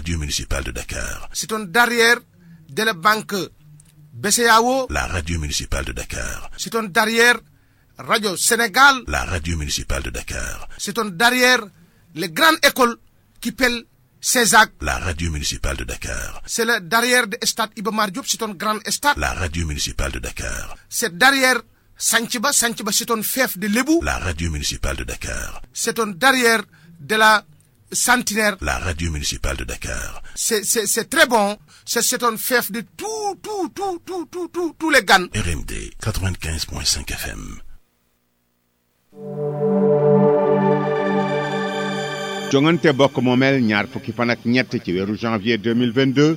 radio municipale de Dakar. C'est un derrière de la banque BCEAO, La radio municipale de Dakar. c'est un derrière Radio Sénégal, La radio municipale de Dakar. c'est un derrière les grandes écoles qui pèlent CESAC. La radio municipale de Dakar. C'est le derrière de stade Iba Mar Diop, c'est un grand stade. La radio municipale de Dakar. C'est derrière Santhiaba, Santhiaba c'est un fief de Lébou. La radio municipale de Dakar. C'est un derrière de la Centenaire. La radio municipale de Dakar. C'est très bon. C'est un fief de tous les GAN. RMD 95.5 FM. jongante bokk moomeel ñaar fukki fan ak ñett ci weeru janvier 2022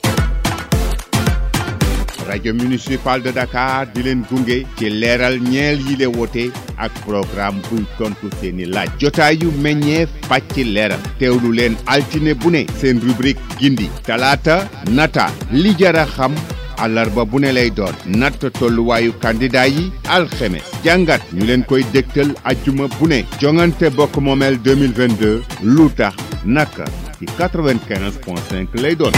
radio municipal de Dakar di leen gunge ci leeral ñeel yi le wote ak programme buy tontu seeni laaj jotaayu meññeef pàcc leeral teewlu leen altine bu ne seen rubrique gindi talaata nata li jara xam àllarba bu ne lay doon natt tolluwaayu candidat yi alxemes jàngat ñu leen koy dégtal ajjuma bu ne jongante bokk moomeel 2022 lu tax naka ci 95.5 lay doon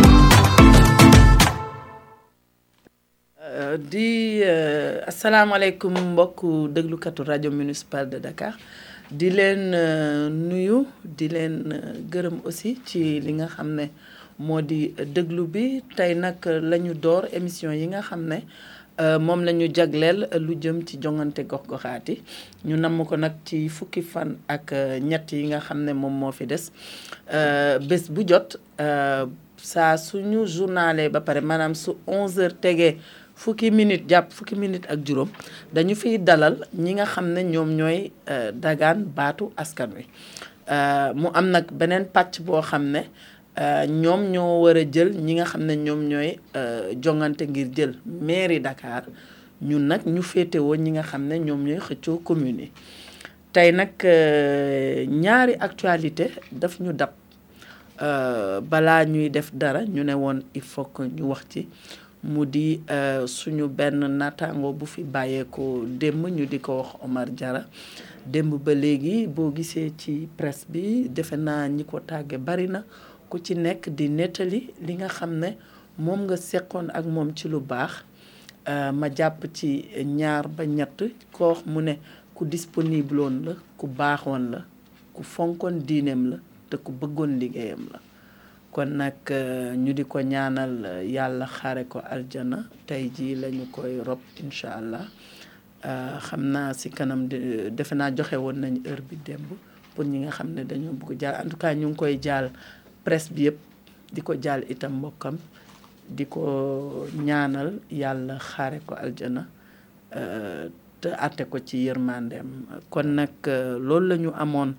di asalaamaaleykum mbokku déglukatu rajo municipal de Dakar di leen nuyu di leen gërëm aussi ci li nga xam ne moo di déglu bi tey nag la ñu door émission yi nga xam ne moom la ñu jagleel lu jëm ci jongante gox-goxaat yi ñu namm ko nag ci fukki fan ak ñett yi nga xam ne moom moo fi des bés bu jot saa suñu journalé ba pare maanaam su 11h tegee fukki minute jàpp fukki minute ak juróom dañu fiy dalal ñi nga xam ne ñoom ñooy dagaan baatu askan wi mu am nag beneen pàcc boo xam ne ñoom ñoo war a jël ñi nga xam ne ñoom ñooy jongante ngir jël mairie Dakar ñun nag ñu féetewoo ñi nga xam ne ñoom ñooy xëccoo commune yi tey nag ñaari actualité daf ñu dab balaa ñuy def dara ñu ne woon il faut que ñu wax ci mu di suñu benn naataango bu fi bàyyeekoo démb ñu di ko wax Omar Diarra démb ba léegi boo gisee ci presse bi defe naa ñi ko tàgge bari na ku ci nekk di nettali li nga xam ne moom nga seqoon ak moom ci lu baax ma jàpp ci ñaar ba ñett ko wax mu ne ku disponible woon la ku baaxoon la ku fonkoon diineem la te ku bëggoon liggéeyam la kon nag ñu di ko ñaanal yàlla xaare ko aljana tey jii lañu koy rob incha allah xam naa si kanam defe naa joxe woon nañu heure bi démb pour ñi nga xam ne dañoo bëgg jaal en tout cas ñu ngi koy jaal presse bi yëpp di ko jaal itam mbokkam di ko ñaanal yàlla xaare ko aljana te àtte ko ci yërmandeem kon nag loolu la ñu amoon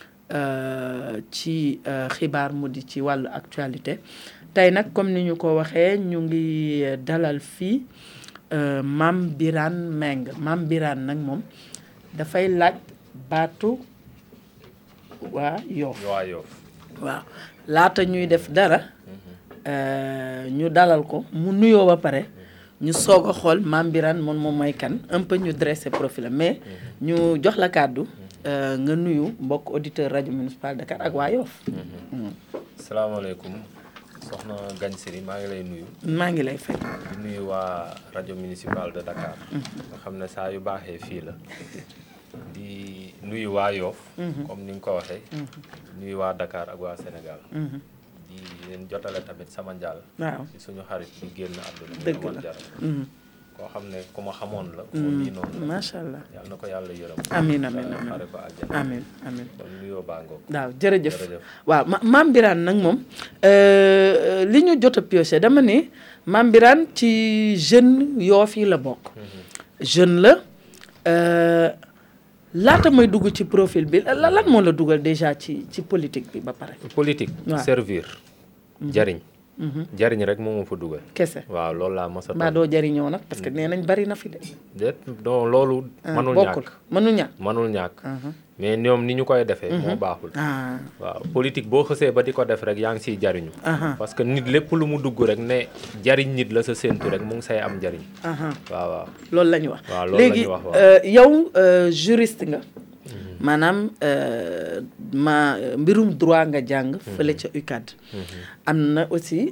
ci xibaar mu di ci wàllu actualité tey nag comme ni ñu ko waxee ñu ngi dalal fii Mame Birane Mbengue Mame Birane nag moom dafay laaj baatu waa Yoff waaw laata ñuy def dara ñu dalal ko mu nuyoo ba pare ñu soog a xool Mame Birane moom mooy kan un peu ñu dressé profil mais ñu jox la kàddu nga nuyu mbokk auditeur rajo municipal Dakar ak waa Yoff. salaamaaleykum soxna Gagne Siri maa ngi lay nuyu. maa ngi lay fay. di nuyu waa rajo municipal de Dakar. nga xam ne saa yu baaxee fii la. di nuyu waa Yoff. comme ni nga ko waxee. nuyu waa Dakar ak waa Sénégal. di leen jotale tamit sama njaal. waaw ci suñu xarit bi génn àdduna. dëgg la koo xam ne ku ma xamoon la. ku ma miinoon la macha allah. yàlla na ko yàlla yërëm. amiin amiin xare ko àjjana. amiin amiin. kon nuyoo baa ngoog. waaw jërëjëf waaw Mame Birane nag moom li ñu jot a pioché dama ne Mame Birane ci jeune Yoff yi la bokk. jeune la laata may dugg ci profil bi lan moo la dugal déjà ci politique bi ba pare. politique. waaw servir. jariñ. jariñ rek moo ma fa dugal. kese waaw loolu laa mos a. mbaa doo jariñoo nag parce que nee nañ bari na fi de. déet non loolu. mënul ñàkk mënul ñàkk. mais ñoom ni ñu koy defee. moo baaxul. waaw politique boo xësee ba di ko def rek yaa ngi siy jariñu. parce que nit lépp lu mu dugg rek ne jariñ nit la sa séentu rek mu ngi say am jariñ. waaw waaw. loolu la ñu wax. waaw loolu la ñu wax léegi yow juriste nga. maanaam mbirum droit nga jàng fële ca UCAD. am na aussi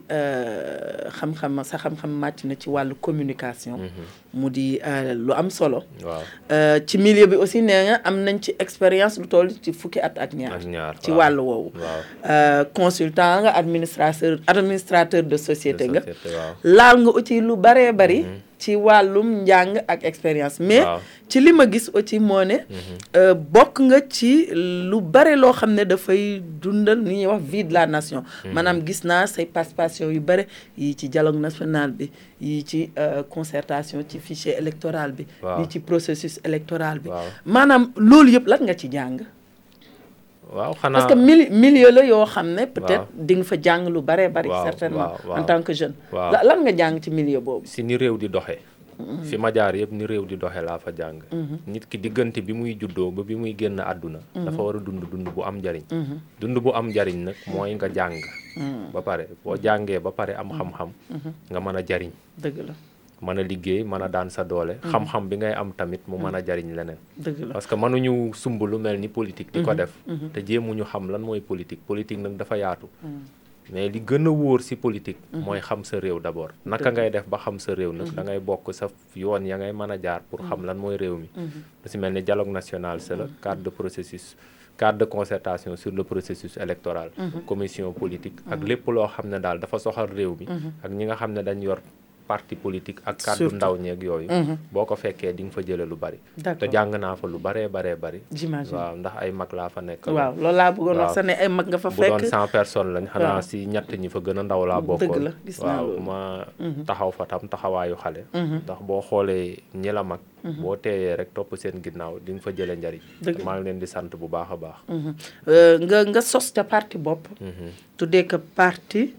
xam-xam màcc na ci wàllu communication. mu di lu am solo. ci milieu bi aussi nee nga am nañ ci expérience lu toll ci fukki at ak ñaar ci wàllu woowu. consultant nga administrateur de société nga. laal nga aussi lu baree bari. ci wàllum njàng ak expérience mais ci li ma gis aussi moo ne bokk nga ci lu bare loo xam ne dafay dundal ni ñuy wax vie de la nation maanaam gis naa say participation yu bare yi ci dialogue national bi yi ci concertation ci fichier électoral bi yi ci processus électoral bi maanaam loolu yëpp lan nga ci jàng waaw xanaa parce que milieu la yoo xam ne peut-être di nga fa jàng lu bare bari certainement en tant que jeune lan nga jàng ci milieu boobu si ni réew di doxee fi ma jaar yëpp ni réew di doxee laa fa jàng nit ki diggante bi muy juddoo ba bi muy génn àdduna dafa war a dund bu am njariñ dund bu am njariñ nag mooy nga jàng ba pare boo jàngee ba pare am xam-xam nga mën a jariñ dëgg la mën a liggéey mën a daan sa doole xam-xam bi ngay am tamit mu mën a jariñ leneen parce que mënuñu sumb lu mel ni politique di ko def te jéemuñu xam lan mooy politique nag dafa yaatu mais li gën a wóor ci politique mooy xam sa réew d'abord naka ngay def ba xam sa réew nag da ngay bokk sa yoon ya ngay mën a jaar pour xam lan mooy réew mi lu ci mel ni dialogue national c'est le cadre de concertation sur le processus électoral commission politique ak lépp loo xam ne daal dafa soxal réew mi ak ñi nga xam ne dañ yor parti politique ak kàddu ndaw ñeeg yooyu boo ko fekkee di nga fa jële lu bari te jàng naa fa lu baree bari j'imagine waaw ndax ay mag laa fa nekk waaw loolu laa bëggoon wax sax ne ay mag nga fa fekk bu doon 100 personnes lañ xanaa si ñett ñi fa gën a ndaw laa bokkoon waaw ma taxaw fa tam taxawaayu xale ndax boo xoolee ñi la mag boo teeyee rek topp seen ginnaaw di nga fa jële njariñ maa ngi leen di sant bu baax a baax nga sos ca parti bopp tuddee ko parti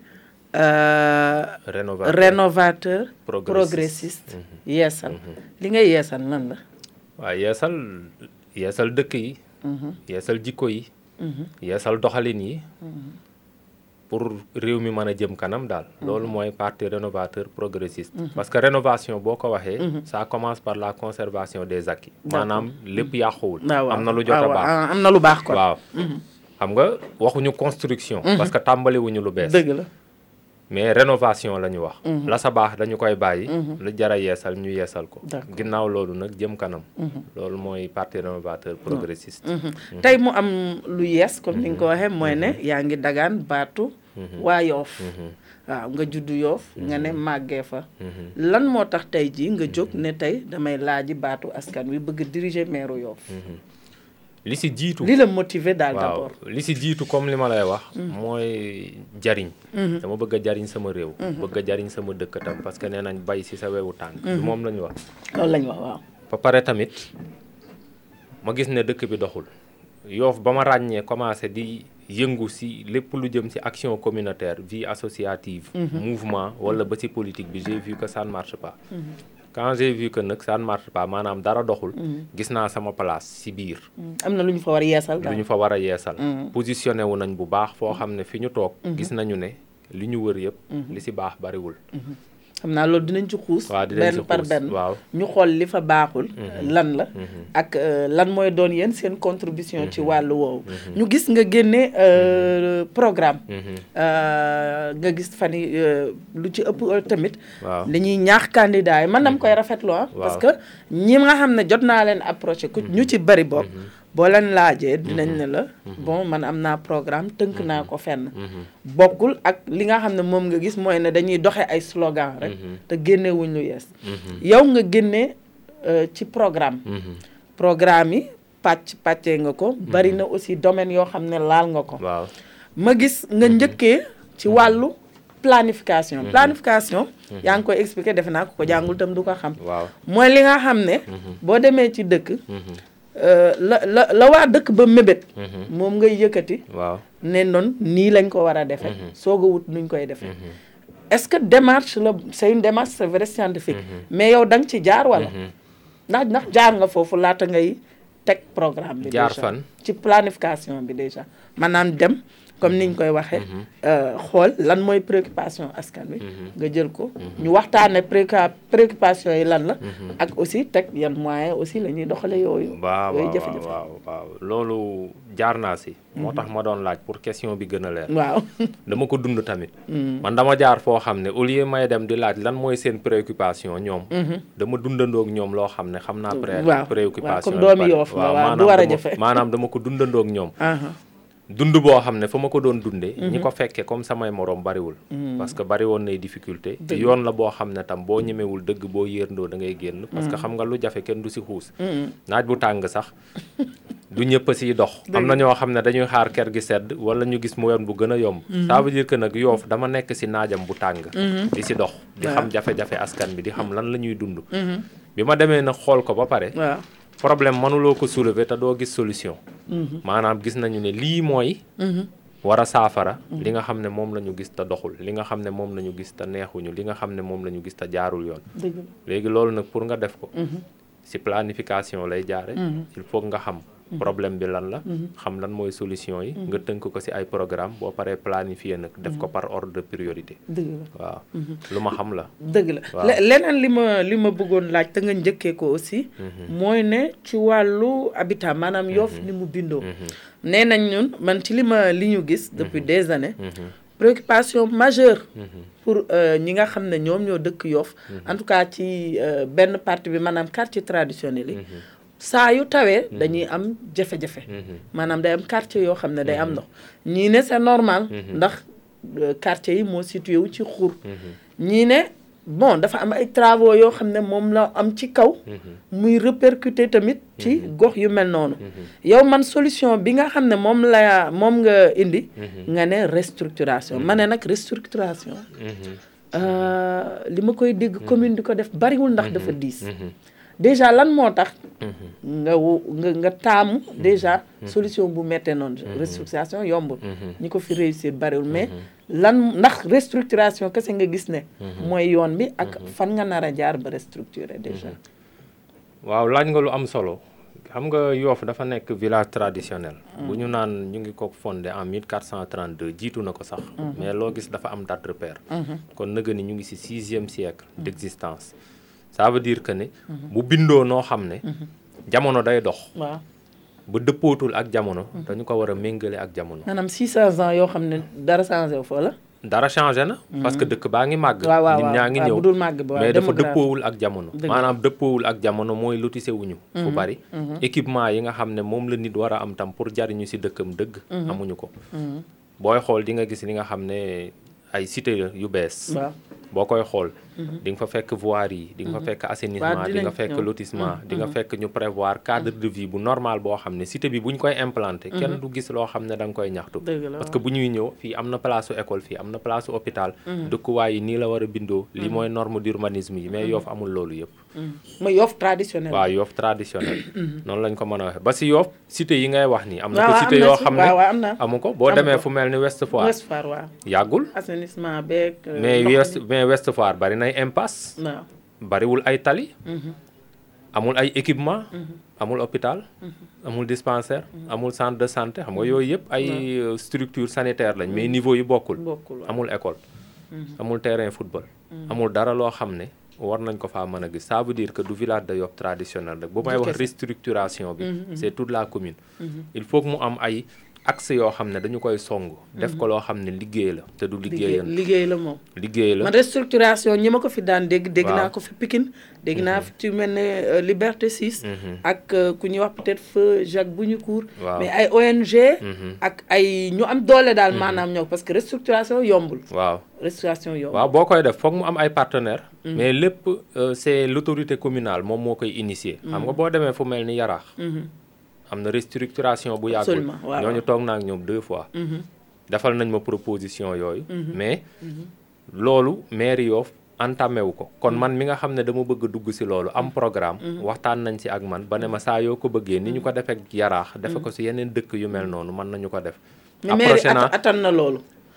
rénovateur progressiste yeesal li ngay yeesal lan la waaw yeesal dëkk yi yeesal jikko yi yeesal doxalin yi pour réew mi mën a jëm kanam daal loolu mooy parti rénovateur progressiste parce que rénovation boo ko waxee ça commence par la conservation des acquis maanaam lépp yàquwul am na lu jot a baax am na lu baax kon waaw xam nga waxuñu construction parce que tàmbaliwuñu lu bees dëgg la mais rénovation la ñu wax la sa baax dañu koy bàyyi lu jara yeesal ñu yeesal ko ginnaaw loolu nag jëm kanam loolu mooy parti rénovateur progressiste tey mu am lu yees comme ni nga ko waxee mooy ne yaa ngi dagaan baatu waa Yoff waaw nga juddu Yoff nga ne màggee fa lan moo tax tey jii nga jóg ne tey damay laaji baatu askan wi bëgg diriger maire Yoff li si jiitu li la motiver daal d'abord li si jiitu comme li ma lay wax mooy jariñ dama bëgg a jariñ sama réew bëgg a jariñ sama dëkk tam parce que nee nañ bay si sa wewu tànk moom la ñu wax loolu la ñu wax waaw ba pare tamit ma gis ne dëkk bi doxul Yoff ba ma ràññee commencé di yëngu si lépp lu jëm si action communautaire vie associative mouvement wala ba si politique bi j'ai vu que ça ne marche pas quand j'ai vu que nag ça ne marche pas maanaam dara doxul gis naa sama place si biir am na lu ñu fa war a yeesal lu ñu fa war a yeesal positionné wu nañ bu baax foo xam ne fi ñu toog gis nañu ne li ñu wër yëpp li si baax bariwul xam naa loolu dinañ ci xuus benn par benn waaw ñu xool li fa baaxul lan la ak lan mooy doon yéen seen contribution ci wàllu woowu ñu gis nga génne programme nga gis fan yi lu ci ëpp tamit dañuy ñaax candidat yi man dama koy rafetlu parce que ñi nga xam ne jot naa leen approché ku ñu ci bari bokk boo leen laajee dinañ ne la bon man am naa programme tënk naa ko fenn bokkul ak li nga xam ne moom nga gis mooy ne dañuy doxe ay slogan rek te génnewuñ lu yees yow nga génne ci programme yi pàccee nga ko bari na aussi domaine yoo xam ne laal nga ko ma gis nga njëkkee ci wàllu planification yaa ngi koy expliquer defe naa ko jàngul tam du ko xam mooy li nga xam ne boo demee ci dëkk la waa dëkk ba mébét moom ngay yëkkati ne noonu nii lañ ko war a defe soog a wut nuñ koy defee est-ce que démarche la c'est une démarche c'est vrai scientifique mais yow da nga ci jaar wala ndax jaar nga foofu laata ngay teg programme bi jaar déjà fan ci planification bi déjà maanaam dem comme niñ koy waxee xool lan mooy préoccupation askan wi nga jël ko ñu waxtaane préoccupation yi lan la ak aussi teg yan moyen aussi la ñuy doxale yooyu jafe-jafe waaw loolu jaar naa si moo tax ma doon laaj pour question bi gën a leer waaw dama ko dund tamit man dama jaar foo xam ne au lieu may dem di laaj lan mooy seen préoccupation ñoom dama dundandoog ñoom loo xam ne xam naa préoccupation comme doomi Yoff waaw du war a jafe maanaam dama ko dundandoog ñoom dund boo xam ne fa ma ko doon dundee ñi ko fekkee comme samay morom bariwul parce que bari woon nay difficulté yoon la boo xam ne tam boo ñemewul dëgg boo yërndoo da ngay génn parce que xam nga lu jafe kenn du si xuus naaj bu tàng sax du ñëpp a siy dox am na ñoo xam ne dañuy xaar ker gi sedd wala ñu gis mu yoon bu gën a yomb ça veut dire que nag Yoff dama nekk si naajam bu tàng di si dox di xam jafe-jafe askan bi di xam lan la ñuy dund bi ma demee nag xool ko ba pare problème mënuloo ko soulever te doo gis solution maanaam gis nañu ne lii mooy war a saafara li nga xam ne moom la ñu gis te doxul li nga xam ne moom la ñu gis te neexuñu li nga xam ne moom la ñu gis te jaarul yoon léegi loolu nag pour nga def ko ci planification lay jaare il faut nga xam problème bi lan la xam lan mooy solution yi nga tënk ko ci ay programme boo paree planifier nag def ko par ordre de priorité waaw lu ma xam la dëgg la leneen li ma bëggoon laaj te nga njëkkee ko aussi mooy ne ci wàllu habitat maanaam Yoff ni mu bindoo nee nañ ñun man ci li ñu gis depuis des années préoccupation majeure pour ñi nga xam ne ñoom ñoo dëkk Yoff en tout cas ci benn partie bi maanaam quartier traditionnel yi saa yu tawee dañuy am jafe-jafe maanaam day am quartier yoo xam ne day am ndox ñii ne c'est normal ndax quartier yi moo situé wu ci xur ñii ne bon dafa am ay travaux yoo xam ne moom la am ci kaw muy répercuter tamit ci gox yu mel noonu yow man solution bi nga xam ne moom nga indi nga ne restructuration ma ne nag restructuration li ma koy dégg commune di ko def bariwul ndax dafa diis déjà lan moo tax nga taamu déjà solution bu mettee noonu restructuration yombul ñi ko fi réussir bariwul mais ndax restructuration kese nga gis ne mooy yoon bi ak fan nga nar a jaar ba restructurer déjà waaw laaj nga lu am solo xam nga Yoff dafa nekk village traditionnel bu ñu naan ñu ngi ko fondé en 1432 jiitu na ko sax mais loo gis dafa am date repère kon nëga ni ñu ngi ci 6e siècle d'existence ça veut dire que ne bu bindoo noo xam ne jamono day dox ba dëppootul ak jamono dañu ko war a méngale ak jamono maanaam 600 ans yoo xam ne dara changé wu fa la dara changé na parce que dëkk baa ngi màgg nit ñaa ngi ñëw mais dafa dëppoowul ak jamono maanaam dëppoowul ak jamono mooy lotissé wuñu fu bari équipement yi nga xam ne moom la nit war a am tam pour jariñu ci dëkkam dëgg amuñu ko booy xool di nga gis li nga xam ne ay cité yu bees boo koy xool di nga fa fekk voirie yi di nga fa fekk assainissement di nga fekk lotissement di nga fekk ñu prévoir cadre de vie bu normal boo xam ne cité bi bu ñu koy implanté kenn du gis loo xam ne da nga koy ñaxtu parce que bu ñuy ñëw fii am na place u école fii am na place u hôpital dëkkuwaay yi nii la war a bindoo lii mooy norme d'urbanisme yi mais Yoff amul loolu yëpp mooy Yoff traditionnel waaw Yoff traditionnel noonu lañ ko mën a waxee ba si Yoff cité yi ngay wax nii am na ko cité yoo xam ne amu ko boo demee fu mel ni Ouest Foire yàggul assainissement beeg mais Ouest Foire bari nay impasse bariwul ay tali amul ay équipement amul hôpital amul dispensaire amul centre de santé xam nga yooyu yëpp ay structure sanitaire lañ mais niveau yi bokkul amul école amul terrain football amul dara loo xam ne war nañ ko faa mën a gis ça veut dire que du village de Yoff traditionnel rek bu may wax restructuration bi c'est toute la commune il faut que mu am ay axe yoo xam ne dañu koy song def ko loo xam ne liggéey la te du liggéey la moom liggéey la man restructuration ñi ma ko fi daan dégg naa ko fi Pikine dégg naa fi ci mel ne Liberté 6 ak ku ñuy wax peut-être feu Jacques Bougnoucourt mais ay ONG ak ay ñu am doole daal maanaam ñëw parce que restructuration yombul restructuration yombul waaw boo koy def foog mu am ay partenaires mais lépp c'est l'autorité communale moom moo koy initier xam nga boo demee fu mel ni Yaraax am na restructuration bu yàggul ñooñu toog naa ak ñoom 2 fois defal nañ ma proposition yooyu mais loolu mairie Yoff entamé wu ko kon man mi nga xam ne dama bëgg dugg ci loolu am programme waxtaan nañ ci ak man ba ne ma saa yoo ko bëggee ni ñu ko defee Yaraax defe ko ci yeneen dëkk yu mel noonu mën nañu ko def mairie attan na loolu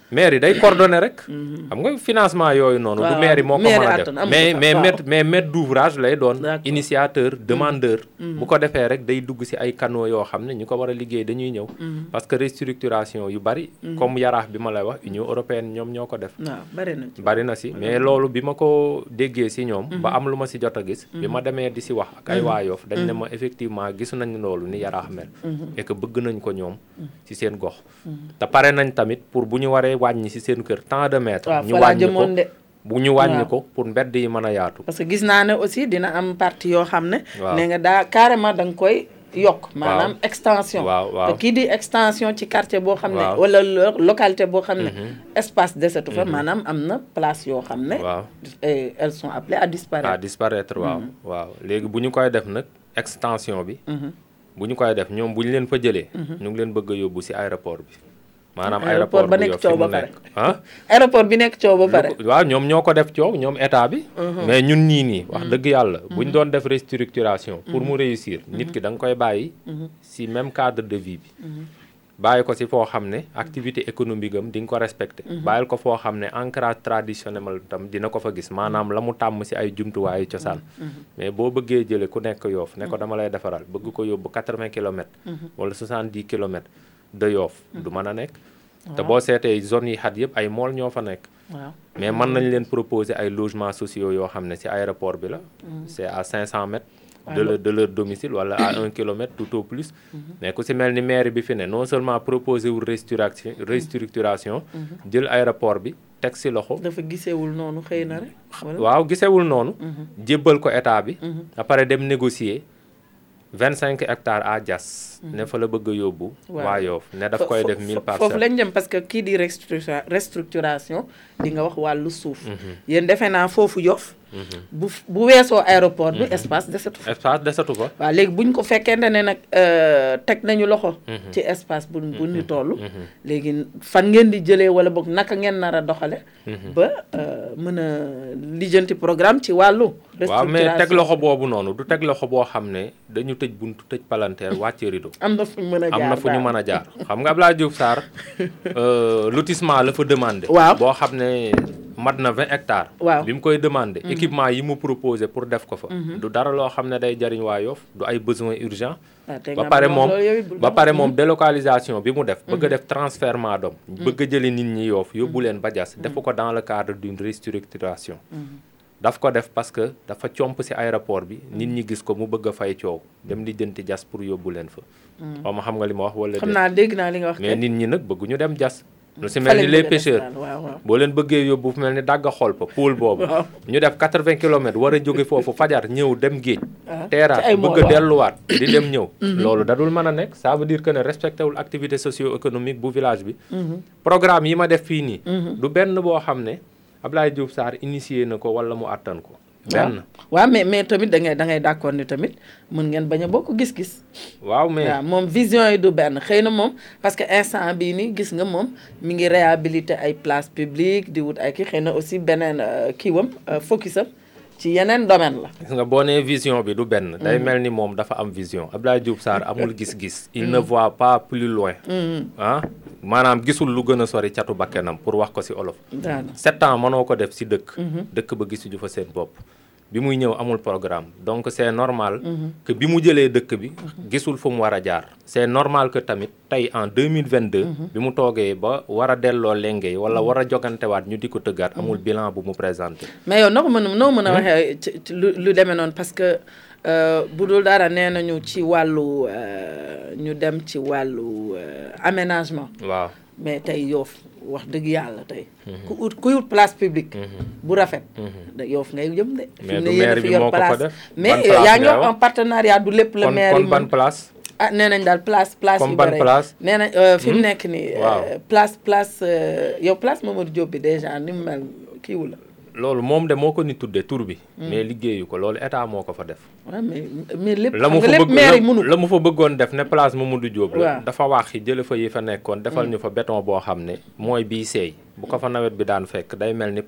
maire yi day coordonné rek. xam nga financement yooyu noonu. du maire yi moo ko mën a def mais maître d'ouvrage lay doon. initiateur demandeur. bu ko defee rek day dugg ci ay canaux yoo xam ne ñu ko war a liggéey dañuy ñëw. parce que restructuration yu bari. comme yaraax bi ma lay wax Union européenne ñoom ñoo ko def. bari na ci mais loolu bi ma ko déggee ci ñoom. ba am lu ma ci jot a gis. bi ma demee di ci wax ak ay waa Yoff dañ ne ma effectivement gis nañ loolu ni yaraax mel. et que bëgg nañ ko ñoom ci seen gox. te pare nañ tamit pour bu ñu waree wàññi ci seen kër tant de mètres. ñu wàññi ko bu ñu wàññi ko pour mbedd yi mën a yaatu. parce que gis naa ne aussi dina am partie yoo xam ne. ne nga daa carrément da nga koy yokk. maanaam extension. te kii di extension ci quartier boo xam ne. wala localité boo xam ne. espace desetu fa maanaam am na place yoo xam ne. elles sont appelées à disparaître. waaw léegi bu ñu koy def nag extension bi. bu ñu koy def ñoom bu ñu leen fa jëlee. ñu ngi leen bëgg a yóbbu ci aéroport bi. maanaam aéroport ba nekk coow ba pare aéroport bi nekk coow ba pare. waaw ñoom ñoo ko def coow ñoom état bi. mais ñun nii wax dëgg yàlla. bu ñu doon def restructuration. pour mu réussir nit ki da nga koy bàyyi. ci même cadre de vie bi. bàyyi ko ci foo xam ne activité économique am di nga ko respecté. bàyyil ko foo xam ne ancrage traditionnel tam dina ko fa gis maanaam la mu tàmm ci ay jumtuwaayu cosaan. mais boo bëggee jëlee ku nekk Yoff ne ko dama lay defaral bëgg ko yóbbu 80 kilomètres. wala 70 kilomètres de Yoff du mën a nekk. te boo seetee zones yi xat yëpp ay mool ñoo fa nekk. mais mën nañ leen proposer ay logements sociaux yoo xam ne ci aéroport bi la. c'est à 500 mètres. de leur domicile wala à 1 kilomètre tout au plus. mais ku ci mel ni maire bi fi ne non seulement proposer wul restructuration. jël aéroport bi teg ci loxo. dafa gisewul noonu xëy na rek. waaw gisewul noonu. jébbal ko état bi. après dem négocier 25 hectares à Diass. ne fa la bëgg a yóbbu. waa Yoff ne daf koy def 1000 parcelles. foofu lañ jëm parce que kii di restructuration di nga wax wàllu suuf. yéen defe naa foofu Yoff. bu weesoo aéroport bi espace desatu fa. waaw léegi buñ ko fekkente ne nag teg nañu loxo. ci espace bu ñu toll. léegi fan ngeen di jëlee wala boog naka ngeen nar a doxale ba mën a lijjanti programme ci wàllu. waaw mais teg loxo boobu noonu du teg loxo boo xam ne dañu tëj buntu tëj palanteer wàcce rideau. am na fu ñu mën a jaar am na fu ñu mën a jaar xam nga Abdoulaye Diouf Sarr lotissement la fa demandé. waaw boo xam ne mat na 20 hectares. waaw bi mu koy demandé. équipement yi mu proposé pour def ko fa. du dara loo xam ne day jariñ waa Yoff du ay besoins urgents. ba pare moom délocalisation bi mu def. bëgg a def transfèrement d'hommes. bëgg a jëli nit ñi Yoff yóbbu leen ba Diass. defu ko dans le cadre d'une restructuration. daf ko def parce que dafa comp ci aéroport bi nit ñi gis ko mu bëgg a fay coow dem di jënti Diass pour yóbbu leen fa. xaw ma xam nga li ma wax wala. xam naa dégg naa li nga wax mais nit ñi nag bëgguñu dem Diass. lu ci mel ni les pêcheurs boo leen bëggee yóbbu fu mel ni dagga xol pa pool boobu. ñu def 80 kilomètres war a jóge foofu fajar ñëw dem géej. teeraat bëgg a delluwaat di dem ñëw. loolu dadul mën a nekk ça veut dire que ne respecté wul activité socio-économique bu village bi. programme yi ma def fii nii. du benn boo xam ne Abdoulaye Diouf Sarr initié na ko wala mu àttan ko. benn waaw mais tamit da ngay d'accord ni tamit mën ngeen bañ a bokk gis-gis. waaw mais moom vision yi du benn xëy na moom parce que instant bii nii gis nga moom mi ngi réhabiliter ay place publique di wut ay kii xëy na aussi beneen kiiwam focusam ci yeneen domaine la. gis nga boo nee vision bi du benn. day mel ni moom dafa am vision Abdoulaye Diouf Sarr amul gis-gis. il ne voit pas plus loin. maanaam gisul lu gën a sori catu bakkenam pour wax ko ci olof. 7 ans mënoo ko def ci dëkk. dëkk ba gisuñu fa seen bopp. bi muy ñëw amul programme donc c'est normal. que bi mu jëlee dëkk bi. gisul fu mu war a jaar. c'est normal que tamit tey en 2022. bi mu toogee ba war a delloo lenge wala war a jogantewaat ñu di ko tëggaat amul bilan bu mu présenté. mais yow noo mën a waxee ci lu demee noonu parce que bu dul dara nee nañu ci wàllu ñu dem ci wàllu aménagement. waaw mais tey Yoff wax dëgg yàlla tey. kuy ut place publique. bu rafet. Yoff ngay jëm de. mais du maire bi moo ko fa def mais yaa ngi wax en partenariat du lépp la maire yi kon ban place. nee nañ daal place yu bëri nee nañ fi mu nekk nii. place yow place Mamadou Diop bi déjà ni mu mel kiiwu la. loolu moom de moo ko ni tudde tur bi. mais liggéeyu ko loolu état moo ko fa def. waaw mais lépp maire yi mënu la mu fa bëggoon def ne place Mamadou Diop la. dafa wax jële fa yi fa nekkoon defal ñu fa béton boo xam ne mooy bii seey bu ko fa nawet bi daan fekk day mel ni pat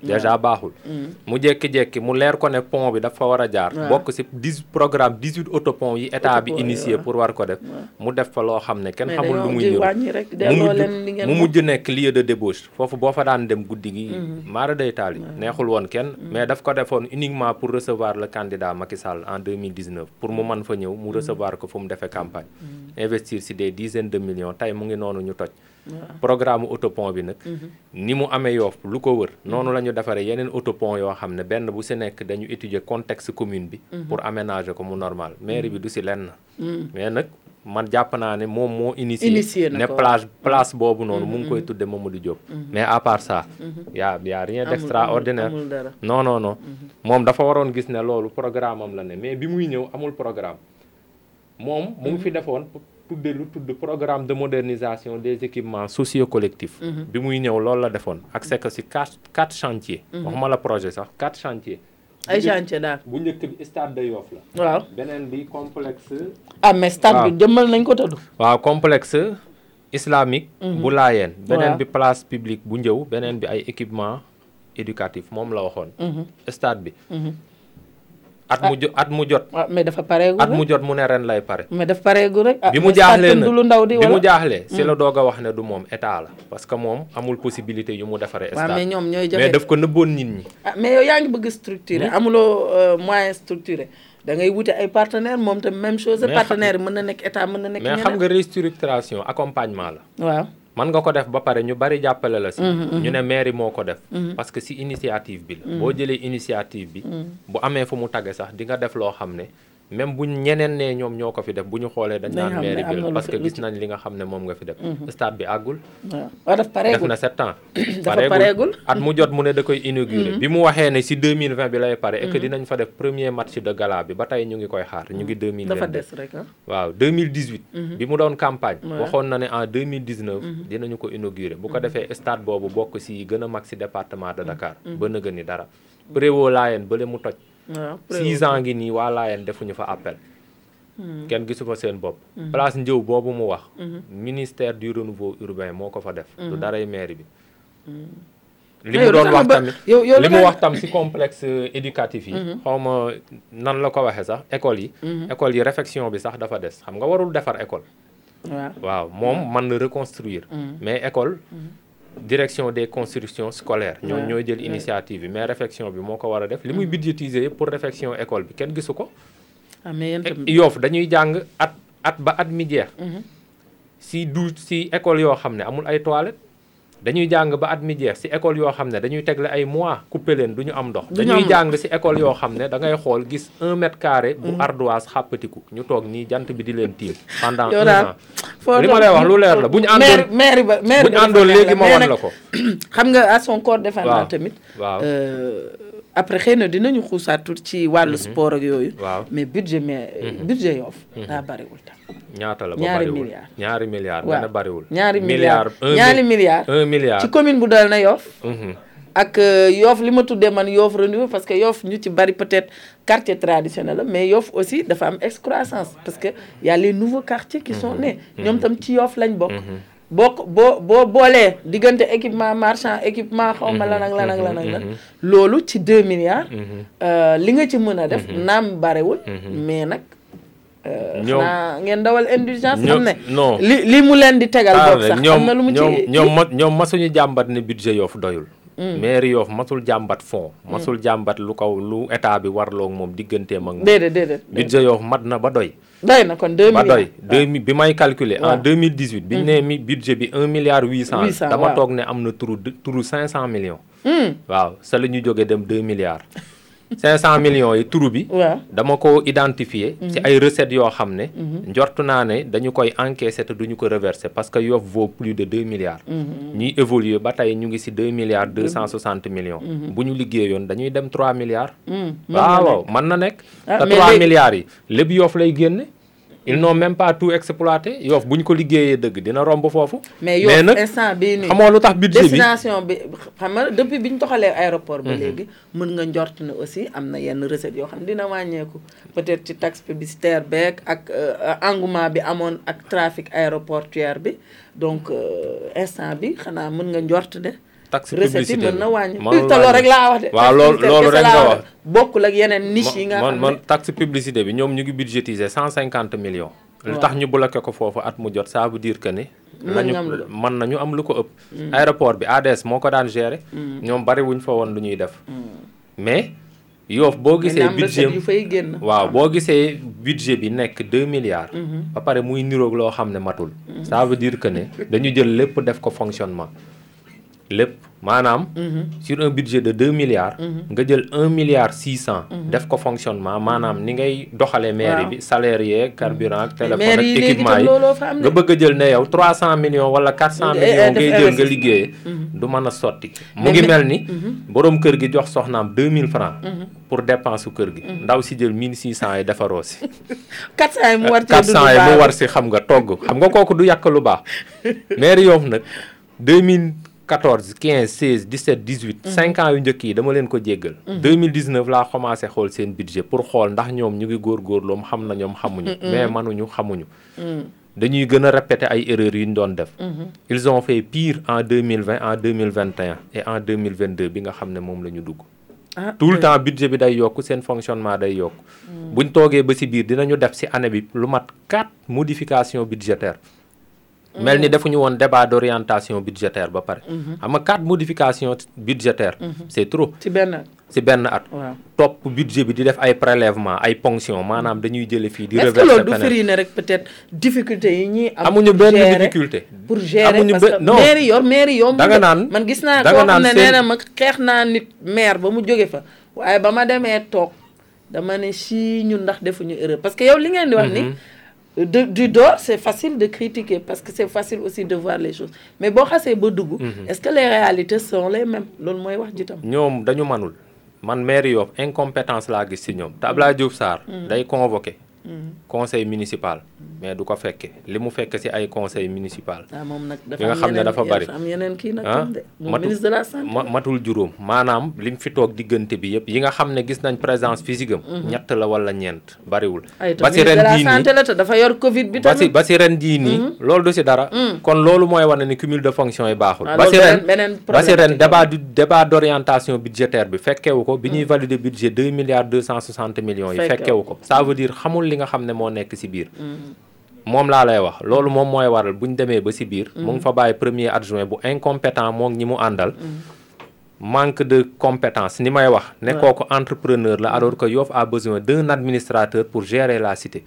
déjà baaxul mu jékki-jékki mu leer ko ne pont bi dafa war a jaar bokk ci 18 autopont yi état bi initié pour war ko def mu def fa loo xam ne kenn xamul lu muy ñëw mu mujj nekk lieu de débauche foofu boo fa daan dem guddi gi maara day taal yi neexul woon kenn mais daf ko defoon uniquement pour recevoir le candidat Macky Sall en 2019 pour mu mën fa ñëw mu recevoir ko fu mu defee campagne investir ci des dizaines de millions tey mu ngi noonu ñu toj programme autopont bi nag ni mu amee Yoff lu ko wër noonu la ñu defaree yeneen autopont yoo xam ne benn bu ci nekk dañu étudier contexte commune bi pour aménager ko mu normal mairie bi du ci lenn mais nag man jàpp naa ne moom moo initié ne place boobu noonu mu ngi koy tudde Mamadou Diop mais à part ça y a rien d'extraordinaire non moom dafa waroon gis ne loolu programme am la ne mais bi muy ñëw amul programme moom mu ngi fi defoon lu tudd programme de modernisation des équipements socio-collectifs bi muy ñëw loolu la defoon ak c'est que ci 4 chantiers waxuma la projet sax 4 chantiers ay chantier daal bu njëkk bi stade de Yoff la waaw beneen bi complexe mais stade bi jëmmal nañ ko tudd waaw complexe islamique bu Laayeen beneen bi place publique bu Njëw beneen bi ay équipement éducatif moom la waxoon stade bi at mu jot mais dafa pareegul at mu jot mu ne ren lay pare mais dafa pareegul rek bi mu jaaxlee nag bi mu jaaxlee si la doog a wax ne du moom état la parce que moom amul possibilité yu mu defaree stade mais ñoom ñooy joxe mais daf ko nëbboon nit ñi mais yow yaa ngi bëgg structuré amuloo moyen structuré da ngay wute ay partenaire moom tam même chose partenaire yi mën na nekk état mën na nekk mais xam nga restructuration accompagnement la waaw man nga ko def ba pare ñu bari jàppale la si ñu ne mairie moo ko def parce que si initiative bi la boo jëlee initiative bi bu amee fu mu tagge sax di nga def loo xam ne même bu ñeneen ne ñoom ñoo ko fi def bu ñu xoolee dañ naan mairie bi la parce que gis nañ li nga xam ne moom nga fi def stade bi àggul waaw daf pareegul def na 7 ans pareegul at mu jot mu ne da koy inaugurer bi mu waxee ne si 2020 bi lay pare et que dinañ fa def premier match de gala bi ba tey ñu ngi koy xaar ñu ngi 2022 dafa des rek waaw 2018 bi mu doon campagne waxoon na ne en 2019 dinañu ko inaugurer bu ko defee stade boobu bokk si gën a mag si département de Dakar ba nëga ni dara Préwo Laayeen bële mu toj 6 ans ngi nii waa Laayeen defuñu fa appel kenn gisu fa seen bopp place Njëw boobu mu wax ministère du renouveau urbain moo ko fa def du daray mairie bi li mu doon wax tamit li mu wax tam ci complexe éducatif yi xawma nan la ko waxee sax école yi réfection bi sax dafa des xam nga warul defar école waaw moom mën na reconstruire mais école direction des constructions scolaires ñooy jël initiative bi mais réfection bi moo ko war a def li muy budgétiser pour réfection école bi kenn gisu ko Yoff dañuy jàng at ba at mi jeex si école yoo xam ne amul ay toilettes dañuy jàng ba at mi jeex si école yoo xam ne dañuy tegle ay mois coupé leen du ñu am ndox dañuy jàng si école yoo xam ne da ngay xool gis 1 mètre carré bu ardoise xàppatiku ñu toog nii jant bi di leen tiim pendant 1 an li ma lay wax lu leer la bu ñu àndoon léegi ma wan la ko xam nga à son corps défendant tamit waaw après xëy na dinañu xuusaat tuuti ci wàllu sport ak yooyu mais budget Yoff daa bariwul tam ñaata la ba bariwul ñaari milliards dana bariwul ñaari milliards 1 milliard ci commune bu dal na Yoff ak Yoff li ma tuddee man Yoff renouveau parce que Yoff ñu ci bari peut-être quartier traditionnel la mais Yoff aussi dafa am excroissance parce que y a les nouveaux quartiers qui sont nés ñoom tam ci Yoff lañ bokk boo boolee diggante équipement marchand équipement xawma lan ak lan loolu ci 2 milliards li nga ci mën a def naam barewul mais nag xanaa ngeen dawal indulgence xam ne li mu leen di tegal bopp sax xam na lu mu ci ñoom masuñu jàmbat ne budget Yoff doyul mairie Yoff masul jàmbat fond masul jàmbat lu état bi warloo moom digganteem ak moom déedéet budget Yoff mat na ba doy na kon 2 milliards ba doy bi may calculer en 2018 bi ñu nee budget bi 1 milliard 800 dama toog ne am na turu 500 millions waaw sa la ñu jógee dem 2 milliards 500 millions yi turu bi dama ko identifier ci ay recettes yoo xam ne njortu naa ne dañu koy encaisser te duñu ko reverser parce que Yoff vaut plus de 2 milliards ñuy évoluer ba tey ñu ngi ci 2 milliards 260 millions bu ñu liggéeyoon dañuy dem 3 milliards waaw mën na nekk te 3 milliards yi lépp Yoff lay génne ils n'ont même pas tout exploité Yoff bu ñu ko liggéeyee dëgg dina romb foofu mais Yoff instant bii nii xamoo lu tax budget bi destination bi xam nga depuis bi ñu toxalee aéroport ba léegi mën nga njort ne aussi am na yenn recettes yoo xam ne dina wàññeeku peut-être ci taxe publicitaire beeg ak engouement bi amoon ak trafic aéroportuaire bi donc instant bi xanaa mën nga njort ne taxe publicité mën na wàññi te loolu rek laa wax de. waaw loolu rek nga wax bokkul ak yeneen niche yi nga xam ne man taxe publicité bi ñoom ñu ngi budgétiser 150 millions. lu tax ñu bloqué ko foofu at mu jot ça veut dire que ni. mën nañu am lu ko ëpp. aéroport bi ADS moo ko daan gérer. ñoom bari wuñ fa woon lu ñuy def. mais Yoff boo gisee budget waaw boo gisee budget bi nekk 2 milliards. ba pare muy niroog loo xam ne matul. ça veut dire que ne dañu jël lépp def ko fonctionnement lépp maanaam. sur un budget de 2 milliards. nga jël 1 milliard 600. def ko fonctionnement maanaam ni ngay doxalee mairie bi salaire yeeg carburant téléphone ak équipement yi nga bëgg a jël ne yow 300 millions wala 400 millions ngay jël nga liggéeyee. du mën a sotti. mu ngi mel ni borom kër gi jox soxnaam 2000 francs pour dépense su kër gi. ndaw si jël 1600 yi defaroo si. 400 yi mu war si xam nga togg xam nga kooku du yàq lu baax. mairie Yoff nag 2014 15 16 17 18. 5 ans yu njëkk yi dama leen ko jéggal. 2019 laa commencé xool seen budget pour xool ndax ñoom ñu ngi góorgóorlu xam na ñoom xamuñu. mais mënuñu xamuñu. dañuy gën a répéter ay erreurs yu ñu doon def. ils ont fait pire en 2020 en 2021 et en 2022 bi nga xam ne moom la ñu dugg. tout le temps budget bi day yokk seen fonctionnement day yokk. buñ toogee ba ci biir dinañu def ci année bi lu mat 4 modifications budgétaires. mel ni defuñu woon débat d'orientation budgétaire ba pare. xam nga 4 modifications budgétaires. c'est trop. ci benn at. topp budget bi di def ay prélèvements ay ponctions maanaam dañuy jële fii di. reverser est-ce que loolu du firi ne rek peut-être difficulté yi ñuy am. amuñu benn difficulté. pour gérer parce que mairie yomb. da nga naan man gis naa koo xam ne nee na ma xeex naa nit maire ba mu jóge fa. waaye ba ma demee toog dama ne si ñun ndax defuñu erreur parce que yow li ngeen di wax ni. du dehors c'est facile de critiquer parce que c'est facile aussi de voir les choses mais boo xasee ba dugg. est-ce que les réalités sont les mêmes loolu mooy wax ji tam. ñoom dañu manul man maire Yoff incompétence laa gis ci ñoom te Abdoulaye Diouf Sarr day convoqué. conseil municipal mais du ko fekke li mu fekk ci ay conseil municipal. moom nag yi nga xam ne dafa bari am yeneen kii nag tam de. ministre de la santé matul juróom maanaam li mu fi toog diggante bi yëpp yi nga xam ne gis nañ présence physique am. ñett la wala ñeent bariwul. ba ci ren jii nii dafa yor Covid bi tamit ba ci ren jii nii. loolu du ci dara. kon loolu mooy wane ni cumul de fonction yi baaxul. ba ci ren débat d'orientation budgétaire bi fekkewu ko bi ñuy valider budget 2 milliards 260 millions yi fekkewu ko ça veut dire xamul li nga xam ne moo nekk ci biir. moom laa lay wax loolu moom mooy waral bu ñu demee ba ci biir. mu ngi fa bàyyi premier adjoint bu incompétent moom ñi mu àndal. manque de compétence ni may wax. nekkoo ko entrepreneur la alors que Yoff a besoin d'un administrateur pour gérer la cité.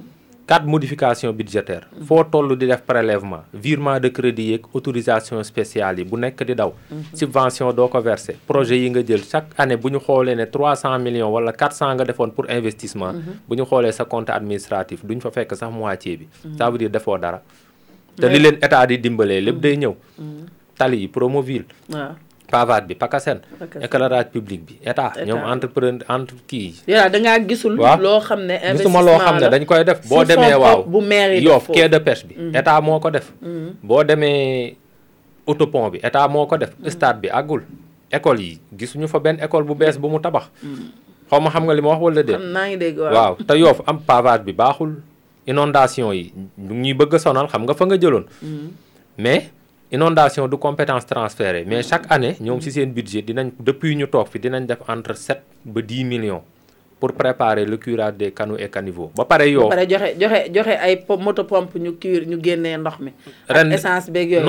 4 modifications budgétaires. foo toll di def prélèvement virement de crédit yeeg autorisation spéciale yi bu nekk di daw. subvention doo ko verser projet yi nga jël chaque année bu ñu xoolee ne 300 millions wala 400 nga defoon pour investissement. bu ñu xoolee sa compte administratif duñ fa fekk sax moitié bi. ça veut dire defoo dara. te li leen état di dimbalee lépp day ñëw. tali yi Promoville. pavage bi PACASEN. éclairage public bi état ñoom entrepreneur kii. yow da ngaa gisul. loo xam ne investissement gisuma loo xam ne dañ koy def. boo demee waaw bu mairie Yoff quai de pêche bi. état moo ko def. boo demee autopont bi état moo ko def. stade bi àggul. école yi gisuñu fa benn école bu bees bu mu tabax. xaw ma xam nga li ma wax wala déet. naa ngi dégg waaw te Yoff am pavage bi baaxul. inondation yi ñu ñuy bëgg a sonal xam nga fa nga jëloon. mais. inondation du compétence transférée mais chaque année ñoom ci seen budget dinañ depuis ñu toog fi dinañ def entre 7 ba 10 millions pour préparer le curage des canaux et caniveaux ba pare yow. ba pare joxe ay moto pompe ñu génnee ndox mi. ren essence beeg yooyu.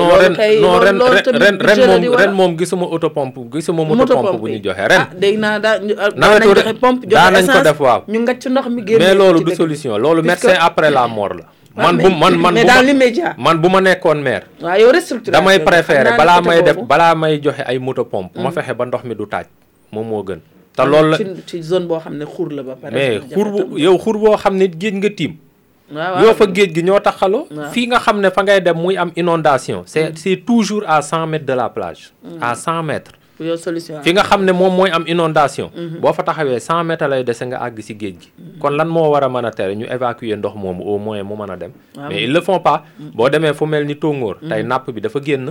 ren moom gisuma auto pompe gisuma moto pompe bu ñu joxe ren. dégg naa nawetu joxe pompe joxe essence ko def waaw. ñu ngacc ndox mi génnee mais loolu du solution loolu médecin après la mort la. mais dans l'immédiat man bu ma nekkoon maire. waaw yow restructuration damay préférer balaa may joxe ay moto pompe ma fexe ba ndox mi du taaj moom moo gën. te loolu la ci zone boo xam ne xur la ba pare. mais xur boo xam ne géej nga tiim. yow fa géej gi ñoo taxaloo. fii nga xam ne fa ngay dem muy am inondation c'est toujours à 100 mètres de la plage. à 100 mètres. yow solution fi nga xam ne moom mooy am inondation. boo fa taxawee 100 mètres lay dese nga àgg ci géej gi. kon lan moo war a mën a tere ñu évacuer ndox moomu au moins mu mën a dem. mais ils le font pas. boo demee fu mel ni Tongoor. tey napp bi dafa génn.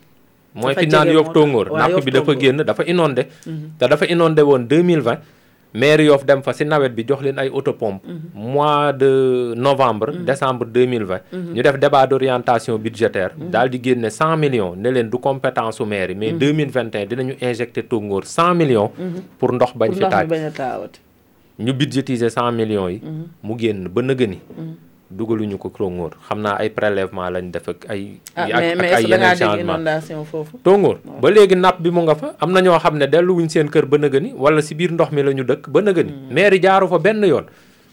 mooy fi naan Yoff Tongoor napp bi dafa génn dafa inondé. te dafa inondé woon 2020 maire Yoff dem fa si nawet bi jox leen ay autopompe mois de novembre décembre 2020 ñu def débat d'orientation budgétaire daal di génne 100 millions ne leen du compétence su maire yi mais 2021 dinañu injecté Tongoor 100 millions pour ndox bañ fi taaj ñu budgétiser 100 millions yi mu génn ba nëgëni dugaluñu ko Tongoor xam naa ay prélèvement lañ def ak ay ay yeneen changement foofu Tongoor ba léegi napp bi mu nga fa am na ñoo xam ne delluwuñ seen kër ba nëgëni wala si biir ndox mi la ñu dëkk ba nëgëni maire yi jaaru fa benn yoon